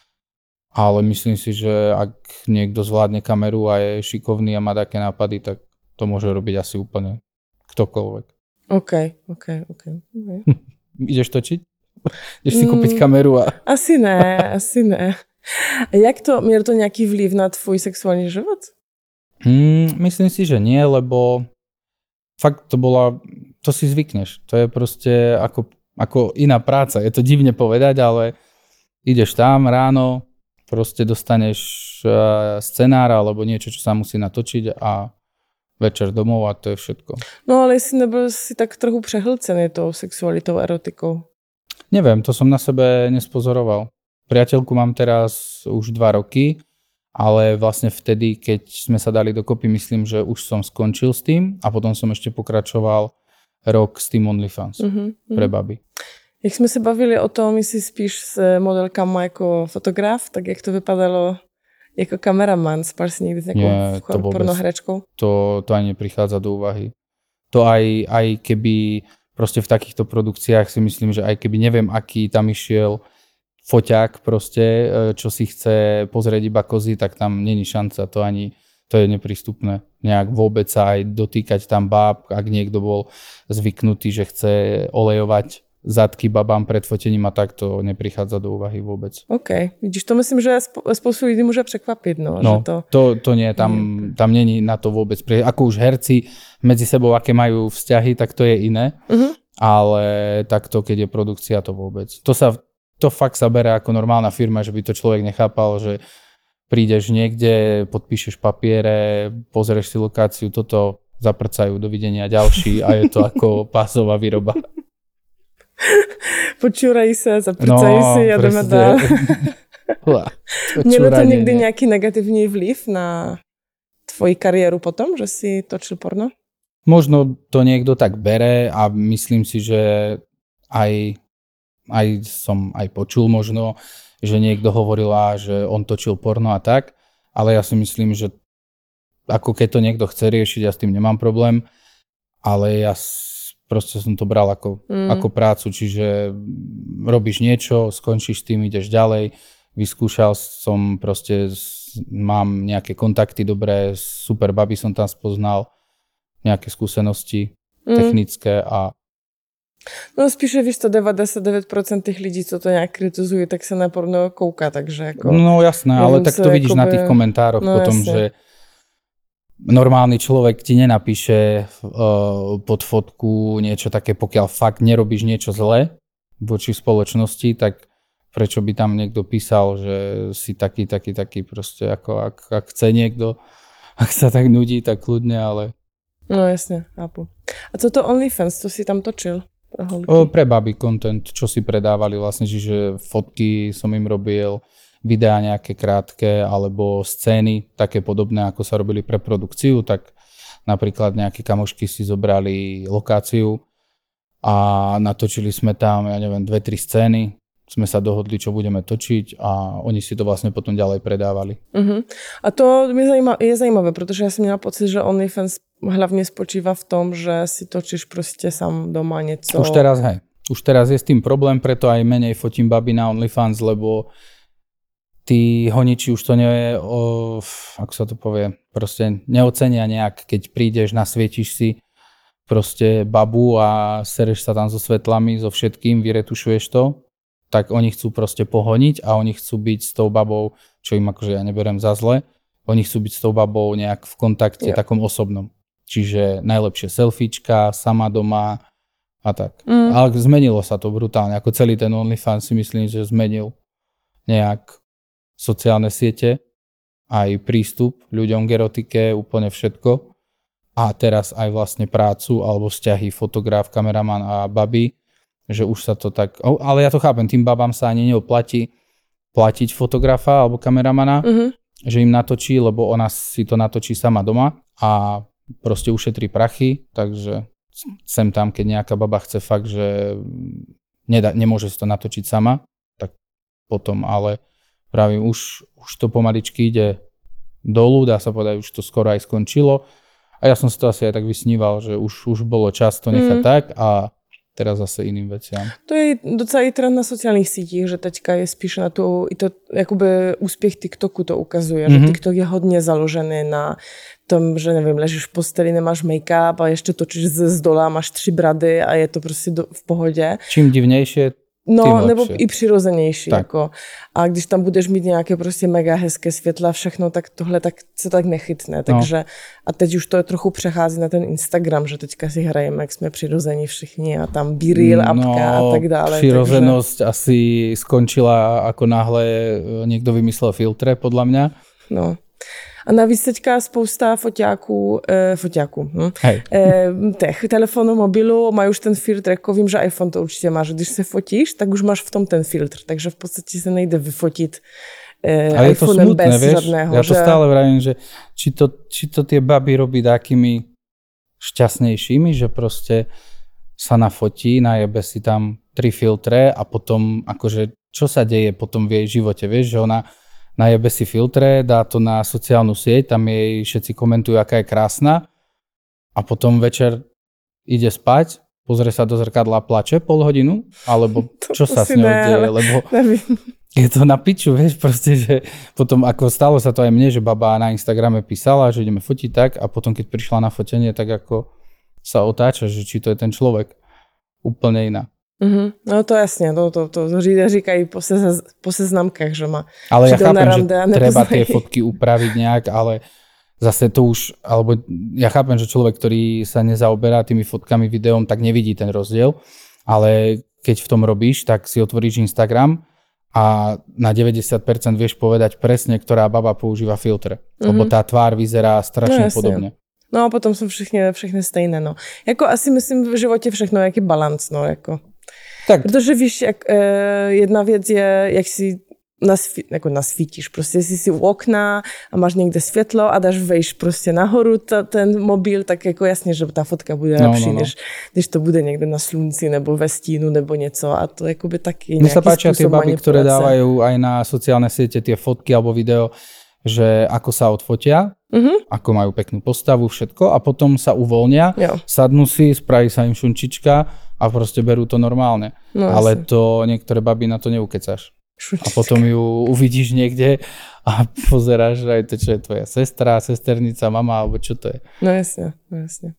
Ale myslím si, že ak niekto zvládne kameru a je šikovný a má také nápady, tak to môže robiť asi úplne ktokoľvek. OK, OK, OK. okay. Ideš točiť? Ideš si kúpiť mm, kameru a... Asi ne, asi ne. Jak to, měl to nějaký vliv na tvůj sexuální život? Mm, myslím si, že nie, lebo fakt to bola... To si zvykneš. To je proste ako, ako iná práca. Je to divne povedať, ale ideš tam ráno, proste dostaneš uh, scenár alebo niečo, čo sa musí natočiť a večer domov a to je všetko. No ale jestli nebyl si tak trochu přehlcený tou sexualitou, erotikou? Neviem, to som na sebe nespozoroval. Priateľku mám teraz už dva roky, ale vlastne vtedy, keď sme sa dali dokopy, myslím, že už som skončil s tým a potom som ešte pokračoval rok s tým OnlyFans mm-hmm. pre baby. Jak jsme se bavili o tom, jestli spíš s modelkama jako fotograf, tak jak to vypadalo jako kameraman? Spal si někdy s nějakou pornohračkou? To, to ani neprichádza do úvahy. To aj, aj keby proste v takýchto produkciách si myslím, že aj keby neviem, aký tam išiel foťák proste, čo si chce pozrieť iba kozy, tak tam není šanca. To ani to je neprístupné. Nejak vôbec sa aj dotýkať tam báb, ak niekto bol zvyknutý, že chce olejovať zadky babám pred fotením a tak, to neprichádza do úvahy vôbec. OK, vidíš, to myslím, že spoustu lidí môže překvapiť. No, no že to... to, to nie, tam, tam není na to vôbec. Ako už herci medzi sebou, aké majú vzťahy, tak to je iné, uh-huh. ale takto, keď je produkcia, to vôbec. To sa, to fakt sa bere ako normálna firma, že by to človek nechápal, že prídeš niekde, podpíšeš papiere, pozrieš si lokáciu, toto zaprcajú, dovidenia ďalší a je to ako pásová výroba. Počúrají sa, zaprcají no, si a jdeme dál. Mělo to někdy nie. nějaký negativní vliv na tvoji kariéru potom, že si točil porno? Možno to niekto tak bere a myslím si, že aj, aj som aj počul možno, že niekto hovoril, že on točil porno a tak, ale ja si myslím, že ako keď to niekto chce riešiť, ja s tým nemám problém, ale ja proste som to bral ako, mm. ako prácu, čiže robíš niečo, skončíš s tým, ideš ďalej, vyskúšal som proste, mám nejaké kontakty dobré, super baby som tam spoznal, nejaké skúsenosti mm. technické a no spíše, víš to, devadesát devět procent tých lidí, co to nějak kritizují, tak se na porno kouká, takže jako... No jasné, ale tak to vidíš akoby... na tých komentároch no, potom, jasne. Že normálny človek ti nenapíše uh, pod fotku niečo také, pokiaľ fakt nerobíš niečo zlé voči spoločnosti, tak prečo by tam niekto písal, že si taký, taký, taký proste, ako ak, ak chce niekto, ak sa tak nudí, tak kľudne, ale... No jasne, chápu. A co to OnlyFans, to si tam točil? O, pre baby content, čo si predávali vlastne, čiže fotky som im robil, videá nejaké krátke, alebo scény, také podobné, ako sa robili pre produkciu, tak napríklad nejaké kamošky si zobrali lokáciu a natočili sme tam, ja neviem, dve, tri scény, sme sa dohodli, čo budeme točiť a oni si to vlastne potom ďalej predávali. Uh-huh. A to je zajímavé, je zajímavé, protože ja som měla pocit, že OnlyFans hlavne spočíva v tom, že si točíš proste sám doma niečo. Už teraz, hej. Už teraz je s tým problém, preto aj menej fotím baby na OnlyFans, lebo tí honiči už to nie, o, ako sa to povie, proste neocenia nejak, keď prídeš, nasvietiš si proste babu a sereš sa tam so svetlami, so všetkým, vyretušuješ to, tak oni chcú proste pohoniť a oni chcú byť s tou babou, čo im akože ja neberiem za zle, oni chcú byť s tou babou nejak v kontakte yeah. takom osobnom. Čiže najlepšie selfiečka, sama doma a tak. Mm. Ale zmenilo sa to brutálne, ako celý ten OnlyFans si myslím, že zmenil nejak sociálne siete, aj prístup ľuďom k erotike, úplne všetko. A teraz aj vlastne prácu alebo vzťahy fotograf, kameraman a baby, že už sa to tak... Ale ja to chápem, tým babám sa ani neoplatí platiť fotografa alebo kameramana, mm-hmm. že im natočí, lebo ona si to natočí sama doma a proste ušetrí prachy, takže sem tam, keď nejaká baba chce fakt, že nedá, nemôže si to natočiť sama, tak potom, ale pravím, už, už to pomaličky ide dolu, dá sa povedať, už to skoro aj skončilo a ja som si to asi aj tak vysníval, že už, už bolo čas to nechať mm. tak a teraz zase iným veciam. To je docela i trend na sociálnych sítích, že teďka je spíš na tu, i to jakoby úspěch TikToku to ukazuje, mm-hmm. že TikTok je hodně založený na tom, že nevím, ležíš v posteli, nemáš make-up a ještě točíš z, z dola, máš tři brady a je to prostě do, v pohodě. Čím divnější, no, nebo i přirozenější. Jako. A když tam budeš mít nějaké prostě mega hezké světla, všechno, tak tohle tak, se tak nechytne. Takže, no. A teď už to trochu přechází na ten Instagram, že teďka si hrajeme, jak jsme přirození všichni a tam B-reel, apka no, a tak dále. Přirozenost takže... asi skončila, ako náhle někdo vymyslel filtre, podľa mňa. No. A navíc teďka spousta foťáků, eh, foťáků, hm, eh, těch telefonů, mobilů mají už ten filtr, jako vím, že iPhone to určitě má, že když se fotíš, tak už máš v tom ten filtr, takže v podstatě se nejde vyfotit eh, iPhonem bez vieš? Žadného. Ja to že... stále vravím, že či to, či to tie baby robí takými šťastnejšími, že proste sa nafotí, najebe si tam tri filtre a potom akože čo sa deje potom v jej živote, vieš, že ona najebe si filtre, dá to na sociálnu sieť, tam jej všetci komentujú, aká je krásna a potom večer ide spať pozrie sa do zrkadla a plače pol hodinu, alebo to, čo to sa s ňou ne, deje, lebo nevím. je to na piču, vieš, proste, že potom ako stalo sa to aj mne, že baba na Instagrame písala, že ideme fotiť tak a potom keď prišla na fotenie, tak ako sa otáča, že či to je ten človek úplne iná. Mm-hmm. No to jasně, to, to, to, to říkají po, sez, po seznamkách, že má. Ale ja chápem, že treba tie fotky upraviť nejak, ale zase to už, alebo ja chápem, že človek, ktorý sa nezaoberá tými fotkami, videom, tak nevidí ten rozdiel, ale keď v tom robíš, tak si otvoríš Instagram a na deväťdesiat percent vieš povedať presne, ktorá baba používa filtre, mm-hmm. lebo tá tvár vyzerá strašne no, podobne. No a potom jsou všichni, všechny stejné, no. Jako asi myslím v životě všechno jaký balans, no, jako. Tak. Protože víš, jak, e, jedna věc je, jak si nasví, jako nasvítíš, prostě jsi si u okna a máš někde světlo a dáš vejš prostě nahoru ta, ten mobil, tak jako jasně, že ta fotka bude no, lepší, no, no. Než, než to bude někde na slunci nebo ve stínu nebo něco a to jakoby taky mne sa páčia tie baby, ktoré dávajú aj na sociálne siete tie fotky alebo video, že ako sa odfotia, uh-huh. ako majú peknú postavu, všetko a potom sa uvoľnia, jo. Sadnú si, spraví sa im šunčička a proste berú to normálne. No, ale asi. To niektoré baby na to neukecáš. Šunčička. A potom ju uvidíš niekde a pozeráš, že aj to, čo je tvoja sestra, sesternica, mama, alebo čo to je. No jasne, no jasne.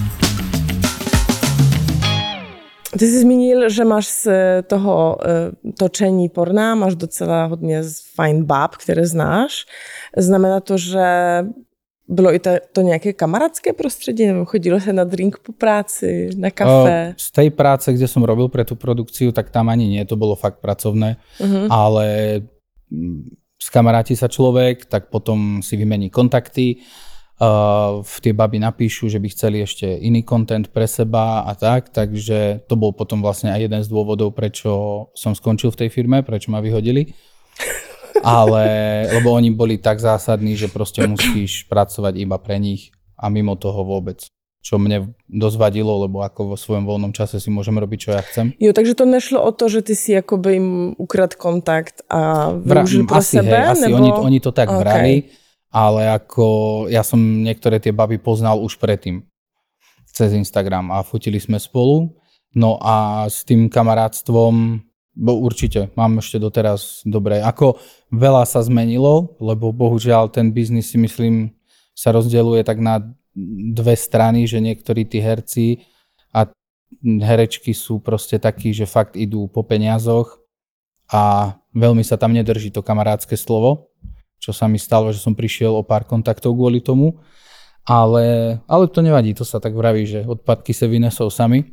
Ty jsi zmínil, že máš z toho točení porna, máš docela hodně fajn báb, které znáš. Znamená to, že bylo i to, to nějaké kamarádské prostředí? Nebo chodilo se na drink po práci, na kafe? Z tej práce, kde som robil pre tú produkciu, tak tam ani nie, to bolo fakt pracovné. Uh-huh. Ale skamaráti sa človek, tak potom si vymení kontakty. Uh, v tie baby napíšu, že by chceli ešte iný content pre seba a tak, takže to bol potom vlastne aj jeden z dôvodov, prečo som skončil v tej firme, prečo ma vyhodili. Ale, lebo oni boli tak zásadní, že proste musíš pracovať iba pre nich a mimo toho vôbec. Čo mne dosť vadilo, lebo ako vo svojom voľnom čase si môžem robiť, čo ja chcem. Jo, takže to nešlo o to, že ty si akoby im ukrad kontakt a využil pro asi, sebe? Hej, asi nebo... oni, oni to tak okay. brali. Ale ako ja som niektoré tie baby poznal už predtým cez Instagram a fotili sme spolu. No a s tým kamarátstvom, bo určite, mám ešte doteraz dobré. Ako veľa sa zmenilo, lebo bohužiaľ ten biznis si myslím sa rozdeľuje tak na dve strany, že niektorí tí herci a herečky sú proste takí, že fakt idú po peniazoch a veľmi sa tam nedrží to kamarátske slovo. Čo sa mi stalo, že som prišiel o pár kontaktov kvôli tomu, ale, ale to nevadí, to sa tak vraví, že odpadky sa vynesou sami,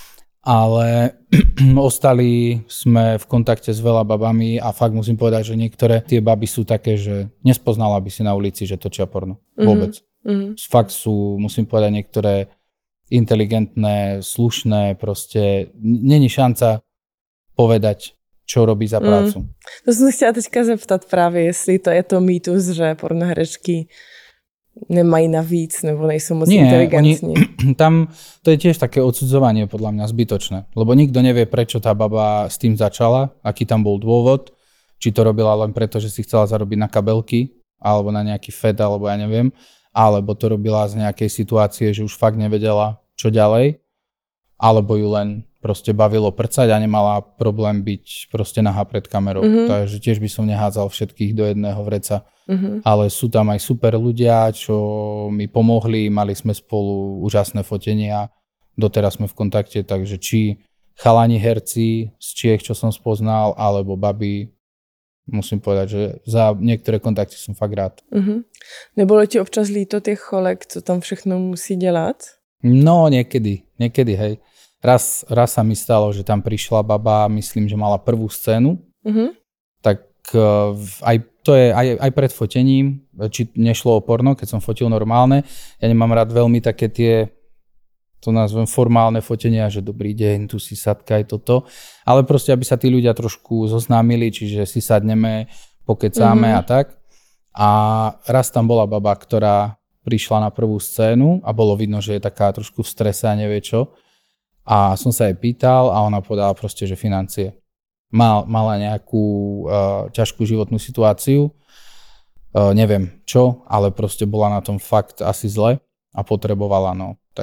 ale ostali sme v kontakte s veľa babami a fakt musím povedať, že niektoré tie baby sú také, že nespoznala by si na ulici, že točia porno, vôbec. Mm-hmm. Fakt sú, musím povedať, niektoré inteligentné, slušné, proste není šanca povedať, čo robí za prácu. Mm. To jsem se chtěla teďka zeptat právě, jestli to je to mýtus, že pornoherečky nemají navíc, nebo nejsou moc Nie, inteligentní. Oni, tam to je tiež také odsudzovanie podľa mňa zbytočné, lebo nikto nevie, prečo tá baba s tým začala, aký tam bol dôvod, či to robila len preto, že si chcela zarobiť na kabelky, alebo na nejaký fed, alebo ja neviem, alebo to robila z nejakej situácie, že už fakt nevedela, čo ďalej, alebo ju len proste bavilo prcať a nemala problém byť proste nahá pred kamerou. Mm-hmm. Takže tiež by som nehádzal všetkých do jedného vreca. Mm-hmm. Ale sú tam aj super ľudia, čo mi pomohli, mali sme spolu úžasné fotenia, doteraz sme v kontakte, takže či chalani herci z Čiech, čo som spoznal, alebo babi, musím povedať, že za niektoré kontakty som fakt rád. Mm-hmm. Nebolo ti občas líto těch cholek, co tam všechno musí dělat? No, niekedy, niekedy, hej. Raz, raz sa mi stalo, že tam prišla baba, myslím, že mala prvú scénu, uh-huh. tak uh, aj to je aj, aj pred fotením, či nešlo o porno, keď som fotil normálne. Ja nemám rád veľmi také tie, to nazvem formálne fotenia, že dobrý deň, tu si sadka aj toto, ale proste, aby sa tí ľudia trošku zoznámili, čiže si sadneme, pokecáme uh-huh. a tak. A raz tam bola baba, ktorá prišla na prvú scénu a bolo vidno, že je taká trošku v strese a nevie čo. A som sa jej pýtal a ona povedala proste, že financie. Mal, mala nejakú uh, ťažkú životnú situáciu, uh, neviem čo, ale proste bola na tom fakt asi zle a potrebovala, no. Tak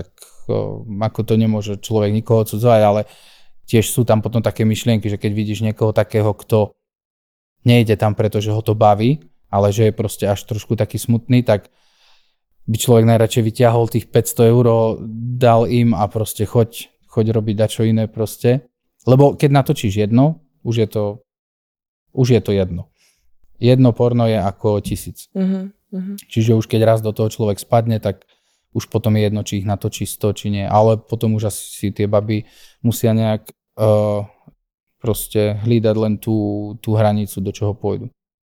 ako, ako to nemôže človek nikoho odsudzovať, ale tiež sú tam potom také myšlienky, že keď vidíš niekoho takého, kto nejde tam, pretože ho to baví, ale že je proste až trošku taký smutný, tak by človek najradšej vyťahol tých päťsto eur, dal im a proste choď, choď robiť dačo iné proste. Lebo keď natočíš jedno, už je to, už je to jedno. Jedno porno je ako tisíc. Uh-huh. Čiže už keď raz do toho človek spadne, tak už potom je jedno, či ich natočí sto, či nie. Ale potom už asi tie baby musia nejak uh, proste hlídať len tú, tú hranicu, do čoho pôjdu.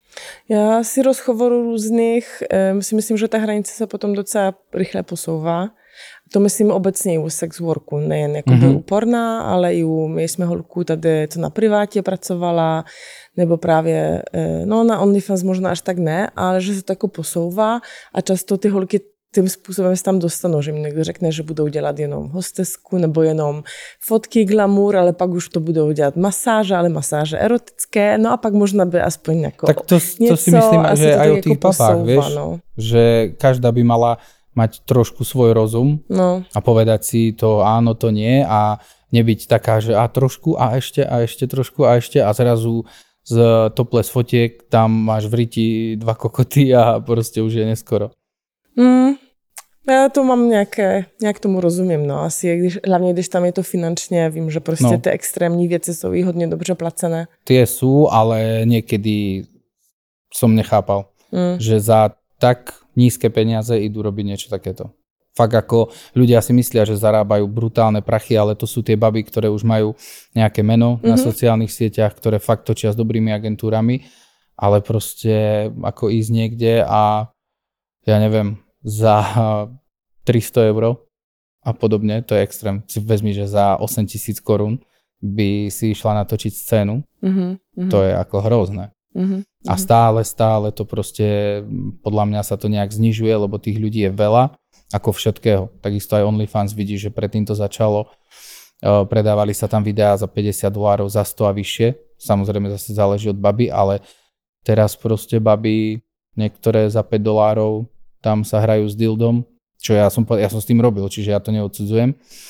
Já si rozhovorů různých, um, si myslím, že ta hranice se potom docela rychle posouvá. To myslím obecně i u sex worku, nejen jako mm-hmm. u porna, ale i u, my jsme holku tady, co na privátě pracovala, nebo právě, no na OnlyFans možná až tak ne, ale že se to jako posouvá a často ty holky tím způsobem se tam dostanou, že mi někdo řekne, že budou dělat jenom hostesku nebo jenom fotky, glamour, ale pak už to budou dělat masáže, ale masáže erotické, no a pak možná by aspoň jako tak to, něco, to si myslím, že aj o tých babách, vieš, no. Že každá by mala mať trošku svoj rozum no. a povedať si to áno, to nie a nebyť taká, že a trošku a ešte a ešte trošku a ešte a zrazu z topless fotiek tam máš v ryti dva kokoty a proste už je neskoro. Mm. Já to mám nějaké, nějak tomu rozumím, no asi, když, hlavně když tam je to finančně, vím, že prostě no. ty extrémní věci jsou i hodně dobře placené. Tie sú, ale niekedy som nechápal, mm. že za tak nízke peniaze idú robiť niečo takéto. Fakt ako ľudia si myslia, že zarábajú brutálne prachy, ale to sú tie baby, ktoré už majú nejaké meno mm-hmm. na sociálnych sieťach, ktoré fakt točia s dobrými agentúrami, ale proste ako ísť niekde a ja neviem, za tristo eur a podobne, to je extrém. Si vezmi, že za osem tisíc korún by si išla natočiť scénu, mm-hmm. to je ako hrozné. Mm-hmm. A stále, stále to proste, podľa mňa sa to nejak znižuje, lebo tých ľudí je veľa, ako všetkého. Takisto aj OnlyFans vidí, že predtým to začalo, predávali sa tam videá za päťdesiat dolárov, za sto a vyššie. Samozrejme zase záleží od baby, ale teraz proste baby, niektoré za päť dolárov, tam sa hrajú s dildom, čo ja som, ja som s tým robil, čiže ja to neodsudzujem.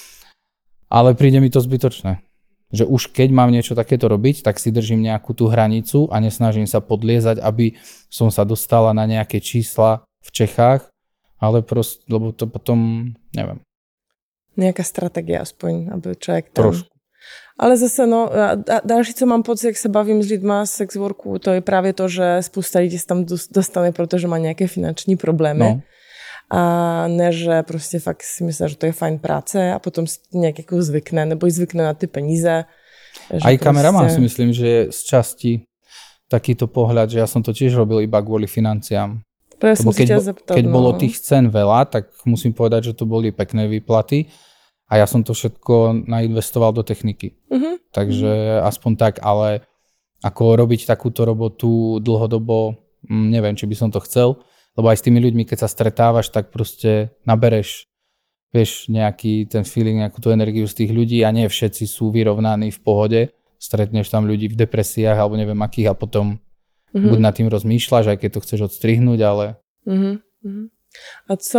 Ale príde mi to zbytočné. Že už keď mám niečo takéto robiť, tak si držím nejakú tú hranicu a nesnažím sa podliezať, aby som sa dostala na nejaké čísla v Čechách, ale proste, lebo to potom, neviem. Nejaká strategie aspoň, aby človek tam... Trošku. Ale zase, no, a další, co mám pocit, jak se bavím s lidma z sex worku, to je právě to, že spousta lidí se tam dostane, protože má nějaké finanční problémy. No. A ne, že prostě fakt si myslí, že to je fajn práce a potom si nějak jako zvykne, nebo i zvykne na ty peníze. Aj kameraman prostě... si myslím, že je z časti takýto pohľad, že ja som to tiež robil iba kvôli financiám. To ja som si ťa zeptať, keď no. bolo tých cen veľa, tak musím povedať, že to boli pekné výplaty. A ja som to všetko nainvestoval do techniky. Uh-huh. Takže aspoň tak, ale ako robiť takúto robotu dlhodobo, neviem, či by som to chcel, lebo aj s tými ľuďmi, keď sa stretávaš, tak proste nabereš, vieš, nejaký ten feeling, nejakú tú energiu z tých ľudí a nie všetci sú vyrovnaní v pohode. Stretneš tam ľudí v depresiách alebo neviem akých a potom uh-huh. buď nad tým rozmýšľaš, aj keď to chceš odstrihnúť, ale... Uh-huh. Uh-huh. A co...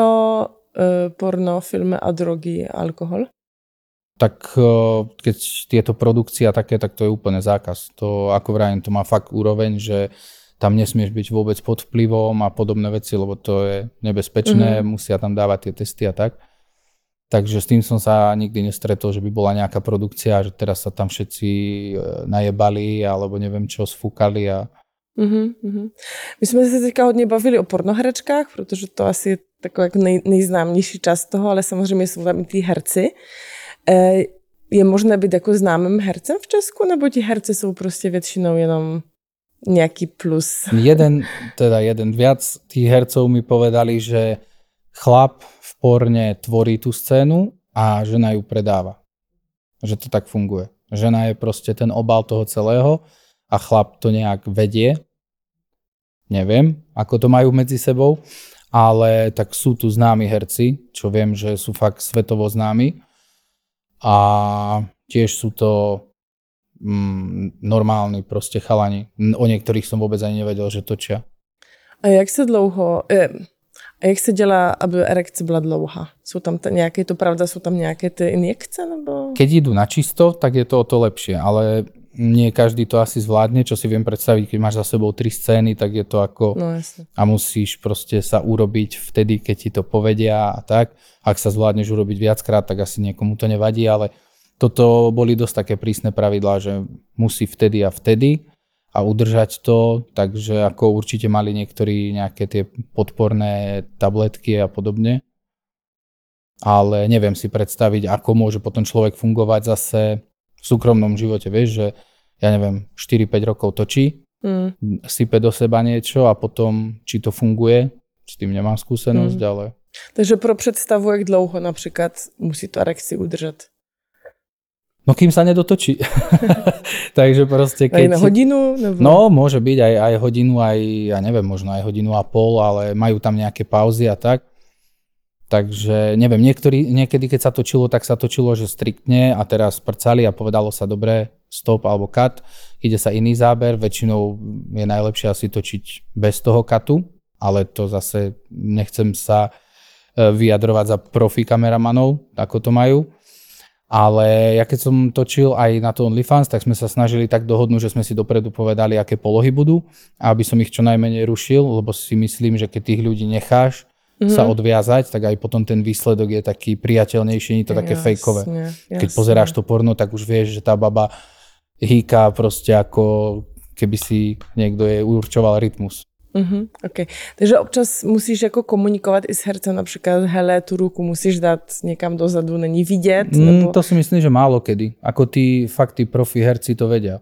porno, filmy a drogy, alkohol? Tak keď tieto produkcie a také, tak to je úplne zákaz. To, ako vrajím, to má fakt úroveň, že tam nesmieš byť vôbec pod vplyvom a podobné veci, lebo to je nebezpečné, mm-hmm. musia tam dávať tie testy a tak. Takže s tým som sa nikdy nestretol, že by bola nejaká produkcia, že teraz sa tam všetci najebali alebo neviem čo, sfúkali a Mm-hmm. My jsme se teďka hodně bavili o pornoherečkách, protože to asi je takový jako nej, nejznámější část toho, ale samozřejmě jsou tam i tí herci. E, je možné být jako známým hercem v Česku, nebo ti herci jsou prostě většinou jenom nějaký plus? Jeden, teda jeden viac tých hercov mi povedali, že chlap v porne tvorí tú scénu a žena ju predáva. Že to tak funguje. Žena je proste ten obal toho celého a chlap to nejak vedie. Neviem, ako to majú medzi sebou, ale tak sú tu známi herci, čo viem, že sú fakt svetovo známi a tiež sú to mm, normálni proste chalani. O niektorých som vôbec ani nevedel, že točia. A jak se dlouho... Je, A jak se dělá, aby erekce byla dlouhá? Jsou tam t- nějaké, to pravda, jsou tam nějaké ty injekce? Nebo? Keď idú na čisto, tak je to o to lepšie, ale nie každý to asi zvládne, čo si viem predstaviť, keď máš za sebou tri scény, tak je to ako... No jasne. A musíš proste sa urobiť vtedy, keď ti to povedia a tak. Ak sa zvládneš urobiť viackrát, tak asi niekomu to nevadí, ale toto boli dosť také prísne pravidlá, že musí vtedy a vtedy a udržať to, takže ako určite mali niektorí nejaké tie podporné tabletky a podobne. Ale neviem si predstaviť, ako môže potom človek fungovať zase v súkromnom živote, vieš, že ja neviem, štyri päť rokov točí, mm. sype do seba niečo a potom, či to funguje, s tým nemám skúsenosť, mm. ale... Takže pro představu, jak dlouho například musí to erekci udržet? No kým sa nedotočí. Takže proste keď... Aj na hodinu? Nebo... No, môže byť aj, aj hodinu, aj, ja neviem, možno aj hodinu a pol, ale majú tam nejaké pauzy a tak. Takže neviem, niektorí, niekedy keď sa točilo, tak sa točilo, že striktne a teraz prcali a povedalo sa dobre, stop alebo cut, ide sa iný záber, väčšinou je najlepšie asi točiť bez toho cutu, ale to zase nechcem sa vyjadrovať za profi kameramanov, ako to majú. Ale ja keď som točil aj na to OnlyFans, tak sme sa snažili tak dohodnúť, že sme si dopredu povedali, aké polohy budú, aby som ich čo najmenej rušil, lebo si myslím, že keď tých ľudí necháš mm-hmm. sa odviazať, tak aj potom ten výsledok je taký priateľnejší, nie to také jasne, fejkové. Keď jasne. Pozeráš to porno, tak už vieš, že tá baba hýka proste ako keby si niekto jej určoval rytmus. Uh-huh, okay. Takže občas musíš jako komunikovat i s hercem, například hele, tu ruku musíš dát někam dozadu, není vidět? Nebo... Mm, to si myslím, že málo kedy. Ako tí fakt tí profi herci to vedia.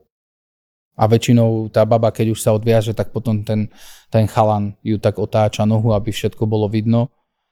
A väčšinou tá baba, keď už sa odviaže, tak potom ten, ten chalan ju tak otáča nohu, aby všetko bolo vidno.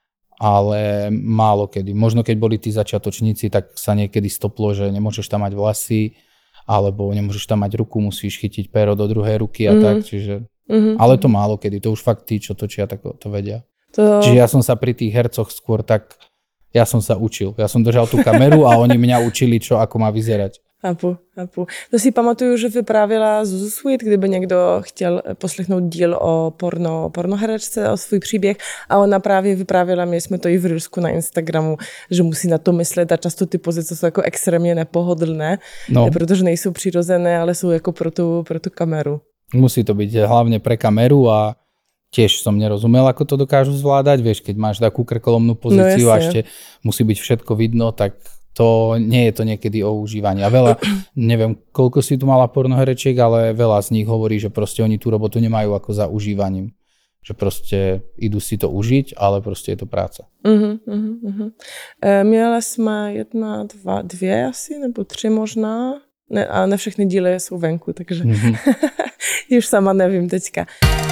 Ale málo kedy. Možno keď boli tí začiatočníci, tak sa niekedy stoplo, že nemôžeš tam mať vlasy, alebo nemôžeš tam mať ruku, musíš chytiť péro do druhej ruky a mm. tak, čiže... Mm-hmm. Ale to málo kedy, to už fakt tí, čo točia, tak to vedia. To... Čiže ja som sa pri tých hercoch skôr tak, ja som sa učil. Ja som držal tú kameru a oni mňa učili, čo ako má vyzerať. Chápu, chápu. To si pamatuju, že vyprávěla Zuzu Sweet, kdyby někdo chtěl poslechnout díl o porno, pornoherečce, o svůj příběh a ona právě vyprávěla, my jsme to i v Rýlsku na Instagramu, že musí na to myslet a často ty pozice jsou jako extrémně nepohodlné, no. Protože nejsou přirozené, ale jsou jako pro tu, pro tu kameru. Musí to byť hlavne pre kameru a tiež som nerozumel, ako to dokážu zvládať. Vieš, keď máš takú krkolomnú pozíciu no, a ešte musí byť všetko vidno, tak to nie je to niekedy o užívaní. A veľa, neviem, koľko si tu mala pornoherečiek, ale veľa z nich hovorí, že proste oni tú robotu nemajú ako za užívaním. Že proste idú si to užiť, ale proste je to práca. Uh-huh, uh-huh, uh-huh. E, měla jsme jedna, dva, dvě asi, nebo tři možná. Ne, a ne všechny díly jsou venku, takže mm-hmm. už sama nevím teďka.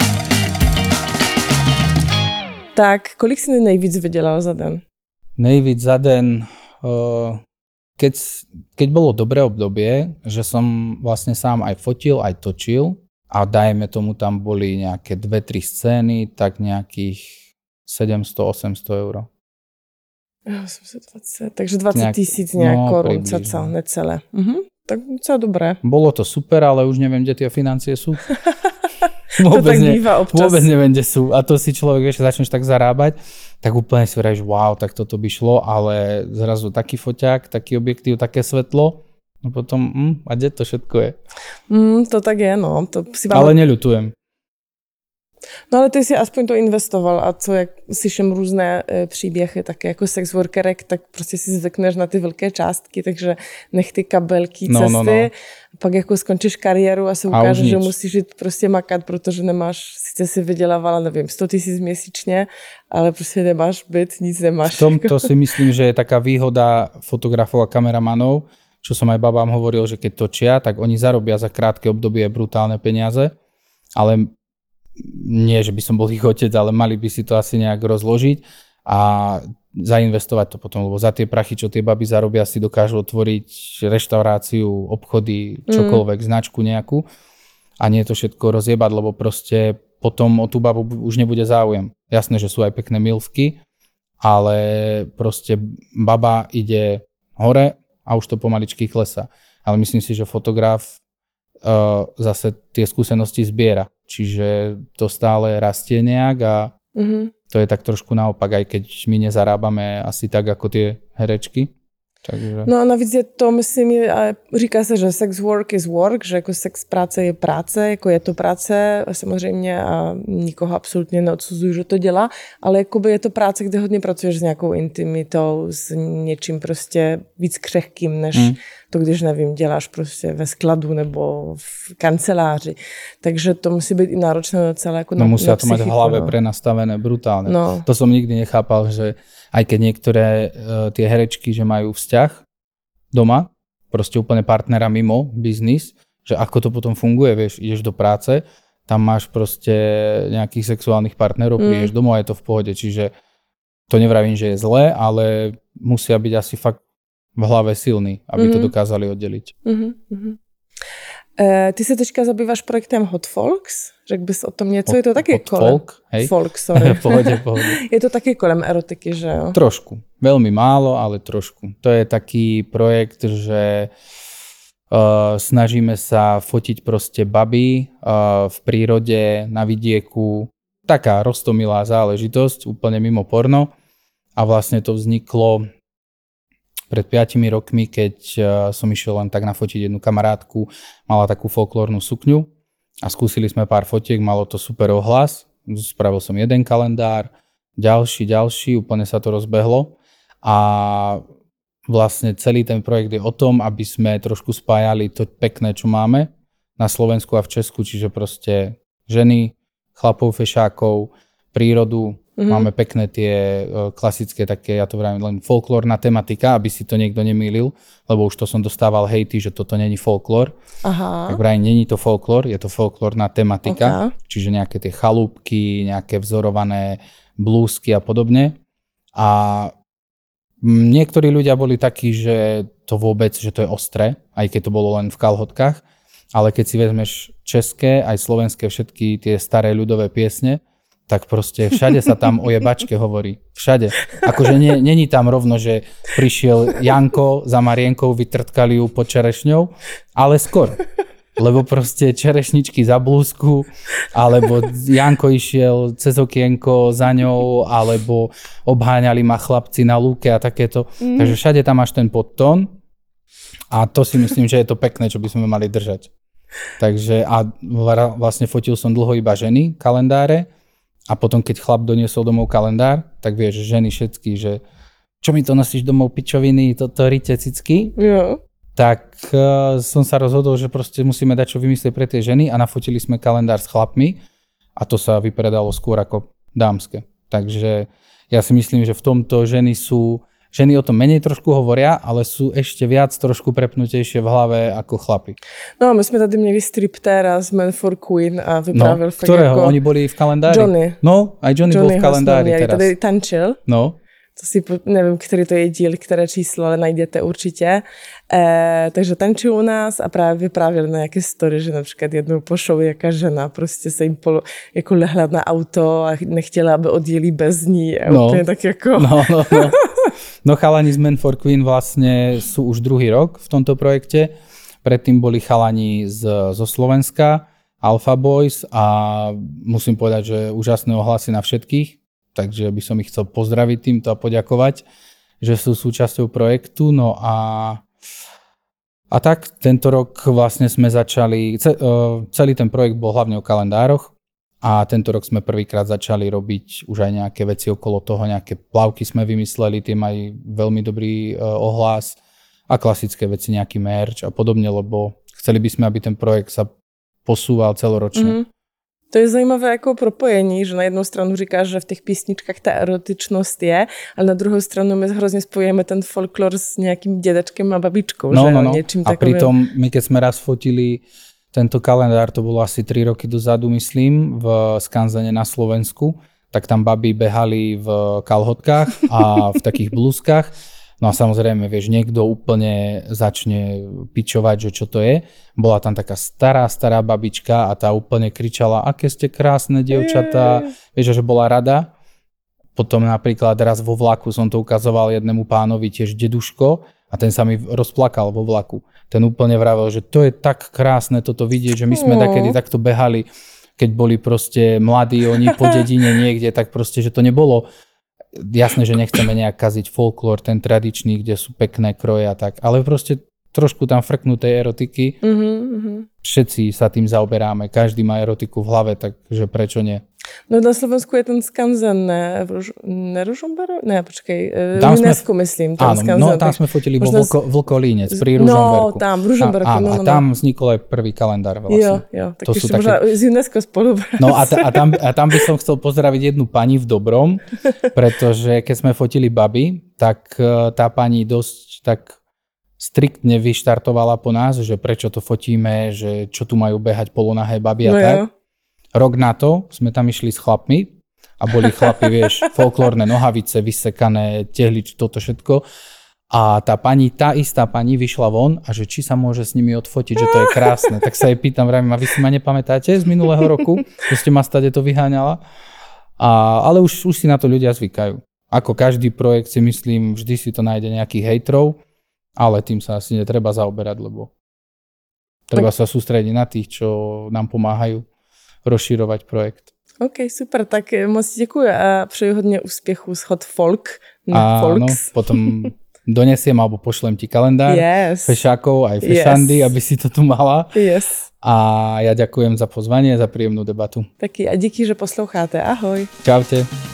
Tak, kolik si nejvíc vydělal za den? Nejvíc za den, uh, keď, keď bolo dobré obdobie, že som vlastne sám aj fotil, aj točil a dajme tomu tam boli nejaké dve tri scény, tak nejakých sedemsto osemsto eur. osemsto dvacet, takže dvacet tisíc nejak no, korun, caca, necelé. Mhm. Tak co dobré. Bolo to super, ale už neviem, kde tie financie sú. Vôbec, to tak býva občas. Vôbec neviem, kde sú. A to si človek, vieš, začneš tak zarábať, tak úplne si vravíš, wow, tak toto by šlo, ale zrazu taký foťák, taký objektív, také svetlo, no potom, hm, a kde to všetko je? Mm, to tak je, no. To si vám... Ale neľutujem. No ale ty si aspoň to investoval a co, jak slyším různé e, příběhy, také jako sex workerek, tak prostě si zvykneš na ty velké částky, takže nech ty kabelky, no, cesty, no, no. pak jako skončíš kariéru a se ukáže, že musíš jít prostě makat, protože nemáš, sice si vydělávala, nevím, sto tisíc měsíčně, ale prostě nemáš byt, nic nemáš. V tomto si myslím, že je taká výhoda fotografov a kameramanov, čo som aj babám hovoril, že keď točia, tak oni zarobia za krátke obdobie brutálne peniaze, ale nie, že by som bol ich otec, ale mali by si to asi nejak rozložiť a zainvestovať to potom, lebo za tie prachy, čo tie baby zarobia, si dokážu otvoriť reštauráciu, obchody, čokoľvek, mm. značku nejakú a nie to všetko rozjebať, lebo proste potom o tú babu už nebude záujem. Jasné, že sú aj pekné milvky, ale proste baba ide hore a už to pomaličky klesá. Ale myslím si, že fotograf uh, zase tie skúsenosti zbiera. Čiže to stále rastie nejak a mm-hmm. to je tak trošku naopak, aj keď my nezarábame asi tak, ako tie herečky. Takže... No a navíc je to, myslím, je, říká se, že sex work is work, že jako sex práce je práce, jako je to práce samozřejmě a nikoho absolutně neodsuzuju, že to dělá, ale jakoby je to práce, kde hodně pracuješ s nějakou intimitou, s něčím prostě víc křehkým, než mm. to, když, nevím, děláš prostě ve skladu nebo v kanceláři. Takže to musí být i náročné docela jako no, na, musia na to mať v hlave no. prenastavené brutálne. No. To som nikdy nechápal, že aj keď niektoré uh, tie herečky, že majú vzťah doma, proste úplne partnera mimo biznis, že ako to potom funguje, vieš, ideš do práce, tam máš proste nejakých sexuálnych partnerov, mm. prídeš domov a je to v pohode, čiže to nevravím, že je zlé, ale musia byť asi fakt v hlave silní, aby mm. to dokázali oddeliť. Mm-hmm. E, ty se teďka zabýváš projektem Hot Folks? Řekl bys o tom něco? Hot, je to taky hot kolem... folk, hej? Folk, sorry. pohode, pohode. Je to taky kolem erotiky, že jo? Trošku. Veľmi málo, ale trošku. To je taký projekt, že uh, snažíme sa fotiť proste baby uh, v prírode, na vidieku. Taká roztomilá záležitosť, úplne mimo porno. A vlastne to vzniklo pred piatimi rokmi, keď uh, som išiel len tak nafotiť jednu kamarátku, mala takú folklórnu sukňu a skúsili sme pár fotiek, malo to super ohlas. Spravil som jeden kalendár, ďalší, ďalší, úplne sa to rozbehlo a vlastne celý ten projekt je o tom, aby sme trošku spájali to pekné, čo máme na Slovensku a v Česku, čiže proste ženy, chlapov, fešákov, prírodu. Mm-hmm. Máme pekné tie uh, klasické také, ja to vravím len folklórna tematika, aby si to niekto nemýlil, lebo už to som dostával hejty, že toto není folklór. Aha. Tak vravím, není to folklór, je to folklórna tematika, okay. Čiže nejaké tie chalúbky, nejaké vzorované blúzky a podobne. A niektorí ľudia boli takí, že to vôbec, že to je ostré, aj keď to bolo len v kalhotkách, ale keď si vezmeš české, aj slovenské všetky tie staré ľudové piesne, tak proste všade sa tam o jebačke hovorí. Všade. Akože nie, není tam rovno, že prišiel Janko za Marienkou, vytrtkali ju pod čerešňou, ale skoro. Lebo proste čerešničky za blúzku, alebo Janko išiel cez okienko za ňou, alebo obháňali ma chlapci na lúke a takéto. Mm. Takže všade tam máš ten podtón a to si myslím, že je to pekné, čo by sme mali držať. Takže a vlastne fotil som dlho iba ženy, kalendáre. A potom, keď chlap doniesol domov kalendár, tak vieš, ženy všetky, že čo mi to nosíš domov, pičoviny, toto rite cicky. Jo. Tak uh, som sa rozhodol, že proste musíme dať čo vymyslieť pre tie ženy a nafotili sme kalendár s chlapmi a to sa vypredalo skôr ako dámske. Takže ja si myslím, že v tomto ženy sú, ženy o tom menej trošku hovoria, ale sú ešte viac trošku prepnutejšie v hlave ako chlapi. No a my sme tady měli striptéra z Men for Queen a vyprávil no, fakt ktorého? Jako... Oni boli v kalendári? Johnny. No, aj Johnny Johnny bol v kalendári teraz. Tady tančil. No. To si, nevím, který to je díl, které číslo, ale najděte určitě. E, takže tančil u nás a právě vyprávěl na nějaké story, že například jednou po show jaká žena prostě se jim polo, jako lehla na auto a nechtěla, aby odjeli bez ní. A no. úplně tak jako... No, no, no. No chalani z Men for Queen vlastne sú už druhý rok v tomto projekte. Predtým boli chalani z, zo Slovenska, Alpha Boys a musím povedať, že úžasné ohlasy na všetkých. Takže by som ich chcel pozdraviť týmto a poďakovať, že sú súčasťou projektu. No a, a tak tento rok vlastne sme začali, celý ten projekt bol hlavne o kalendároch a tento rok sme prvýkrát začali robiť už aj nejaké veci okolo toho, nejaké plavky sme vymysleli, tie majú veľmi dobrý ohlas a klasické veci, nejaký merch a podobne, lebo chceli by sme, aby ten projekt sa posúval celoročne. Mm-hmm. To je zajímavé jako propojení, že na jednu stranu říkáš, že v těch písničkách ta erotičnost je, ale na druhou stranu my hrozně spojujeme ten folklor s nějakým dědečkem a babičkou, no, že no, no. Něčím a takovým. pritom my keď sme raz fotili tento kalendár, to bolo asi tri roky dozadu, myslím, v Skanzene na Slovensku, tak tam baby behali v kalhotkách a v takých blúzkach. No a samozrejme, vieš, niekto úplne začne pičovať, že čo to je. Bola tam taká stará, stará babička a tá úplne kričala, aké ste krásne dievčatá. Vieš, že bola rada. Potom napríklad raz vo vlaku som to ukazoval jednému pánovi, tiež deduško, a ten sa mi rozplakal vo vlaku. Ten úplne vravel, že to je tak krásne toto vidieť, že my sme takedy takto behali. keď boli proste mladí oni po dedine niekde, tak proste, že to nebolo jasné, že nechceme nejak kaziť folklór, ten tradičný, kde sú pekné kroje a tak, ale proste trošku tam frknutej erotiky. Uh-huh. Všetci sa tým zaoberáme, každý má erotiku v hlave, takže prečo nie? No na Slovensku je ten skanzen, ne, Ruž, ne Ružomberok? Ne, počkej, tam v UNESCO sme, myslím. Ten áno, skanzen, no tam sme fotili vo Vlko, Vlkolínec pri No, Ružomberku. tam, v Ružomberku. A, áno, no, no, a tam vznikol aj prvý kalendár vlastne. Jo, jo, tak to ešte sú také... možno z UNESCO spolupráca. No a, ta, a, tam, a tam by som chcel pozdraviť jednu pani v Dobrom, pretože keď sme fotili baby, tak tá pani dosť tak striktne vyštartovala po nás, že prečo to fotíme, že čo tu majú behať polonahé baby a no tak. Jo. Rok na to sme tam išli s chlapmi a boli chlapi, vieš, folklórne nohavice, vysekané, tehlič, toto všetko. A tá pani, tá istá pani vyšla von a že či sa môže s nimi odfotiť, že to je krásne. Tak sa jej pýtam, vravím, a vy si ma nepamätáte z minulého roku, že ste ma stade to vyháňala? A, ale už, už si na to ľudia zvykajú. Ako každý projekt si myslím, vždy si to nájde nejakých hejtrov, ale tým sa asi netreba zaoberať, lebo treba sa sústrediť na tých, čo nám pomáhajú rozširovať projekt. OK, super, tak moc děkuji a přeju hodně úspěchů s Hot Folk na Áno, Folks. potom donesiem alebo pošlem ti kalendár yes. fešákov aj fešandy, yes. aby si to tu mala. Yes. A ja ďakujem za pozvanie, za príjemnú debatu. Taky a díky, že posloucháte. Ahoj. Čaute.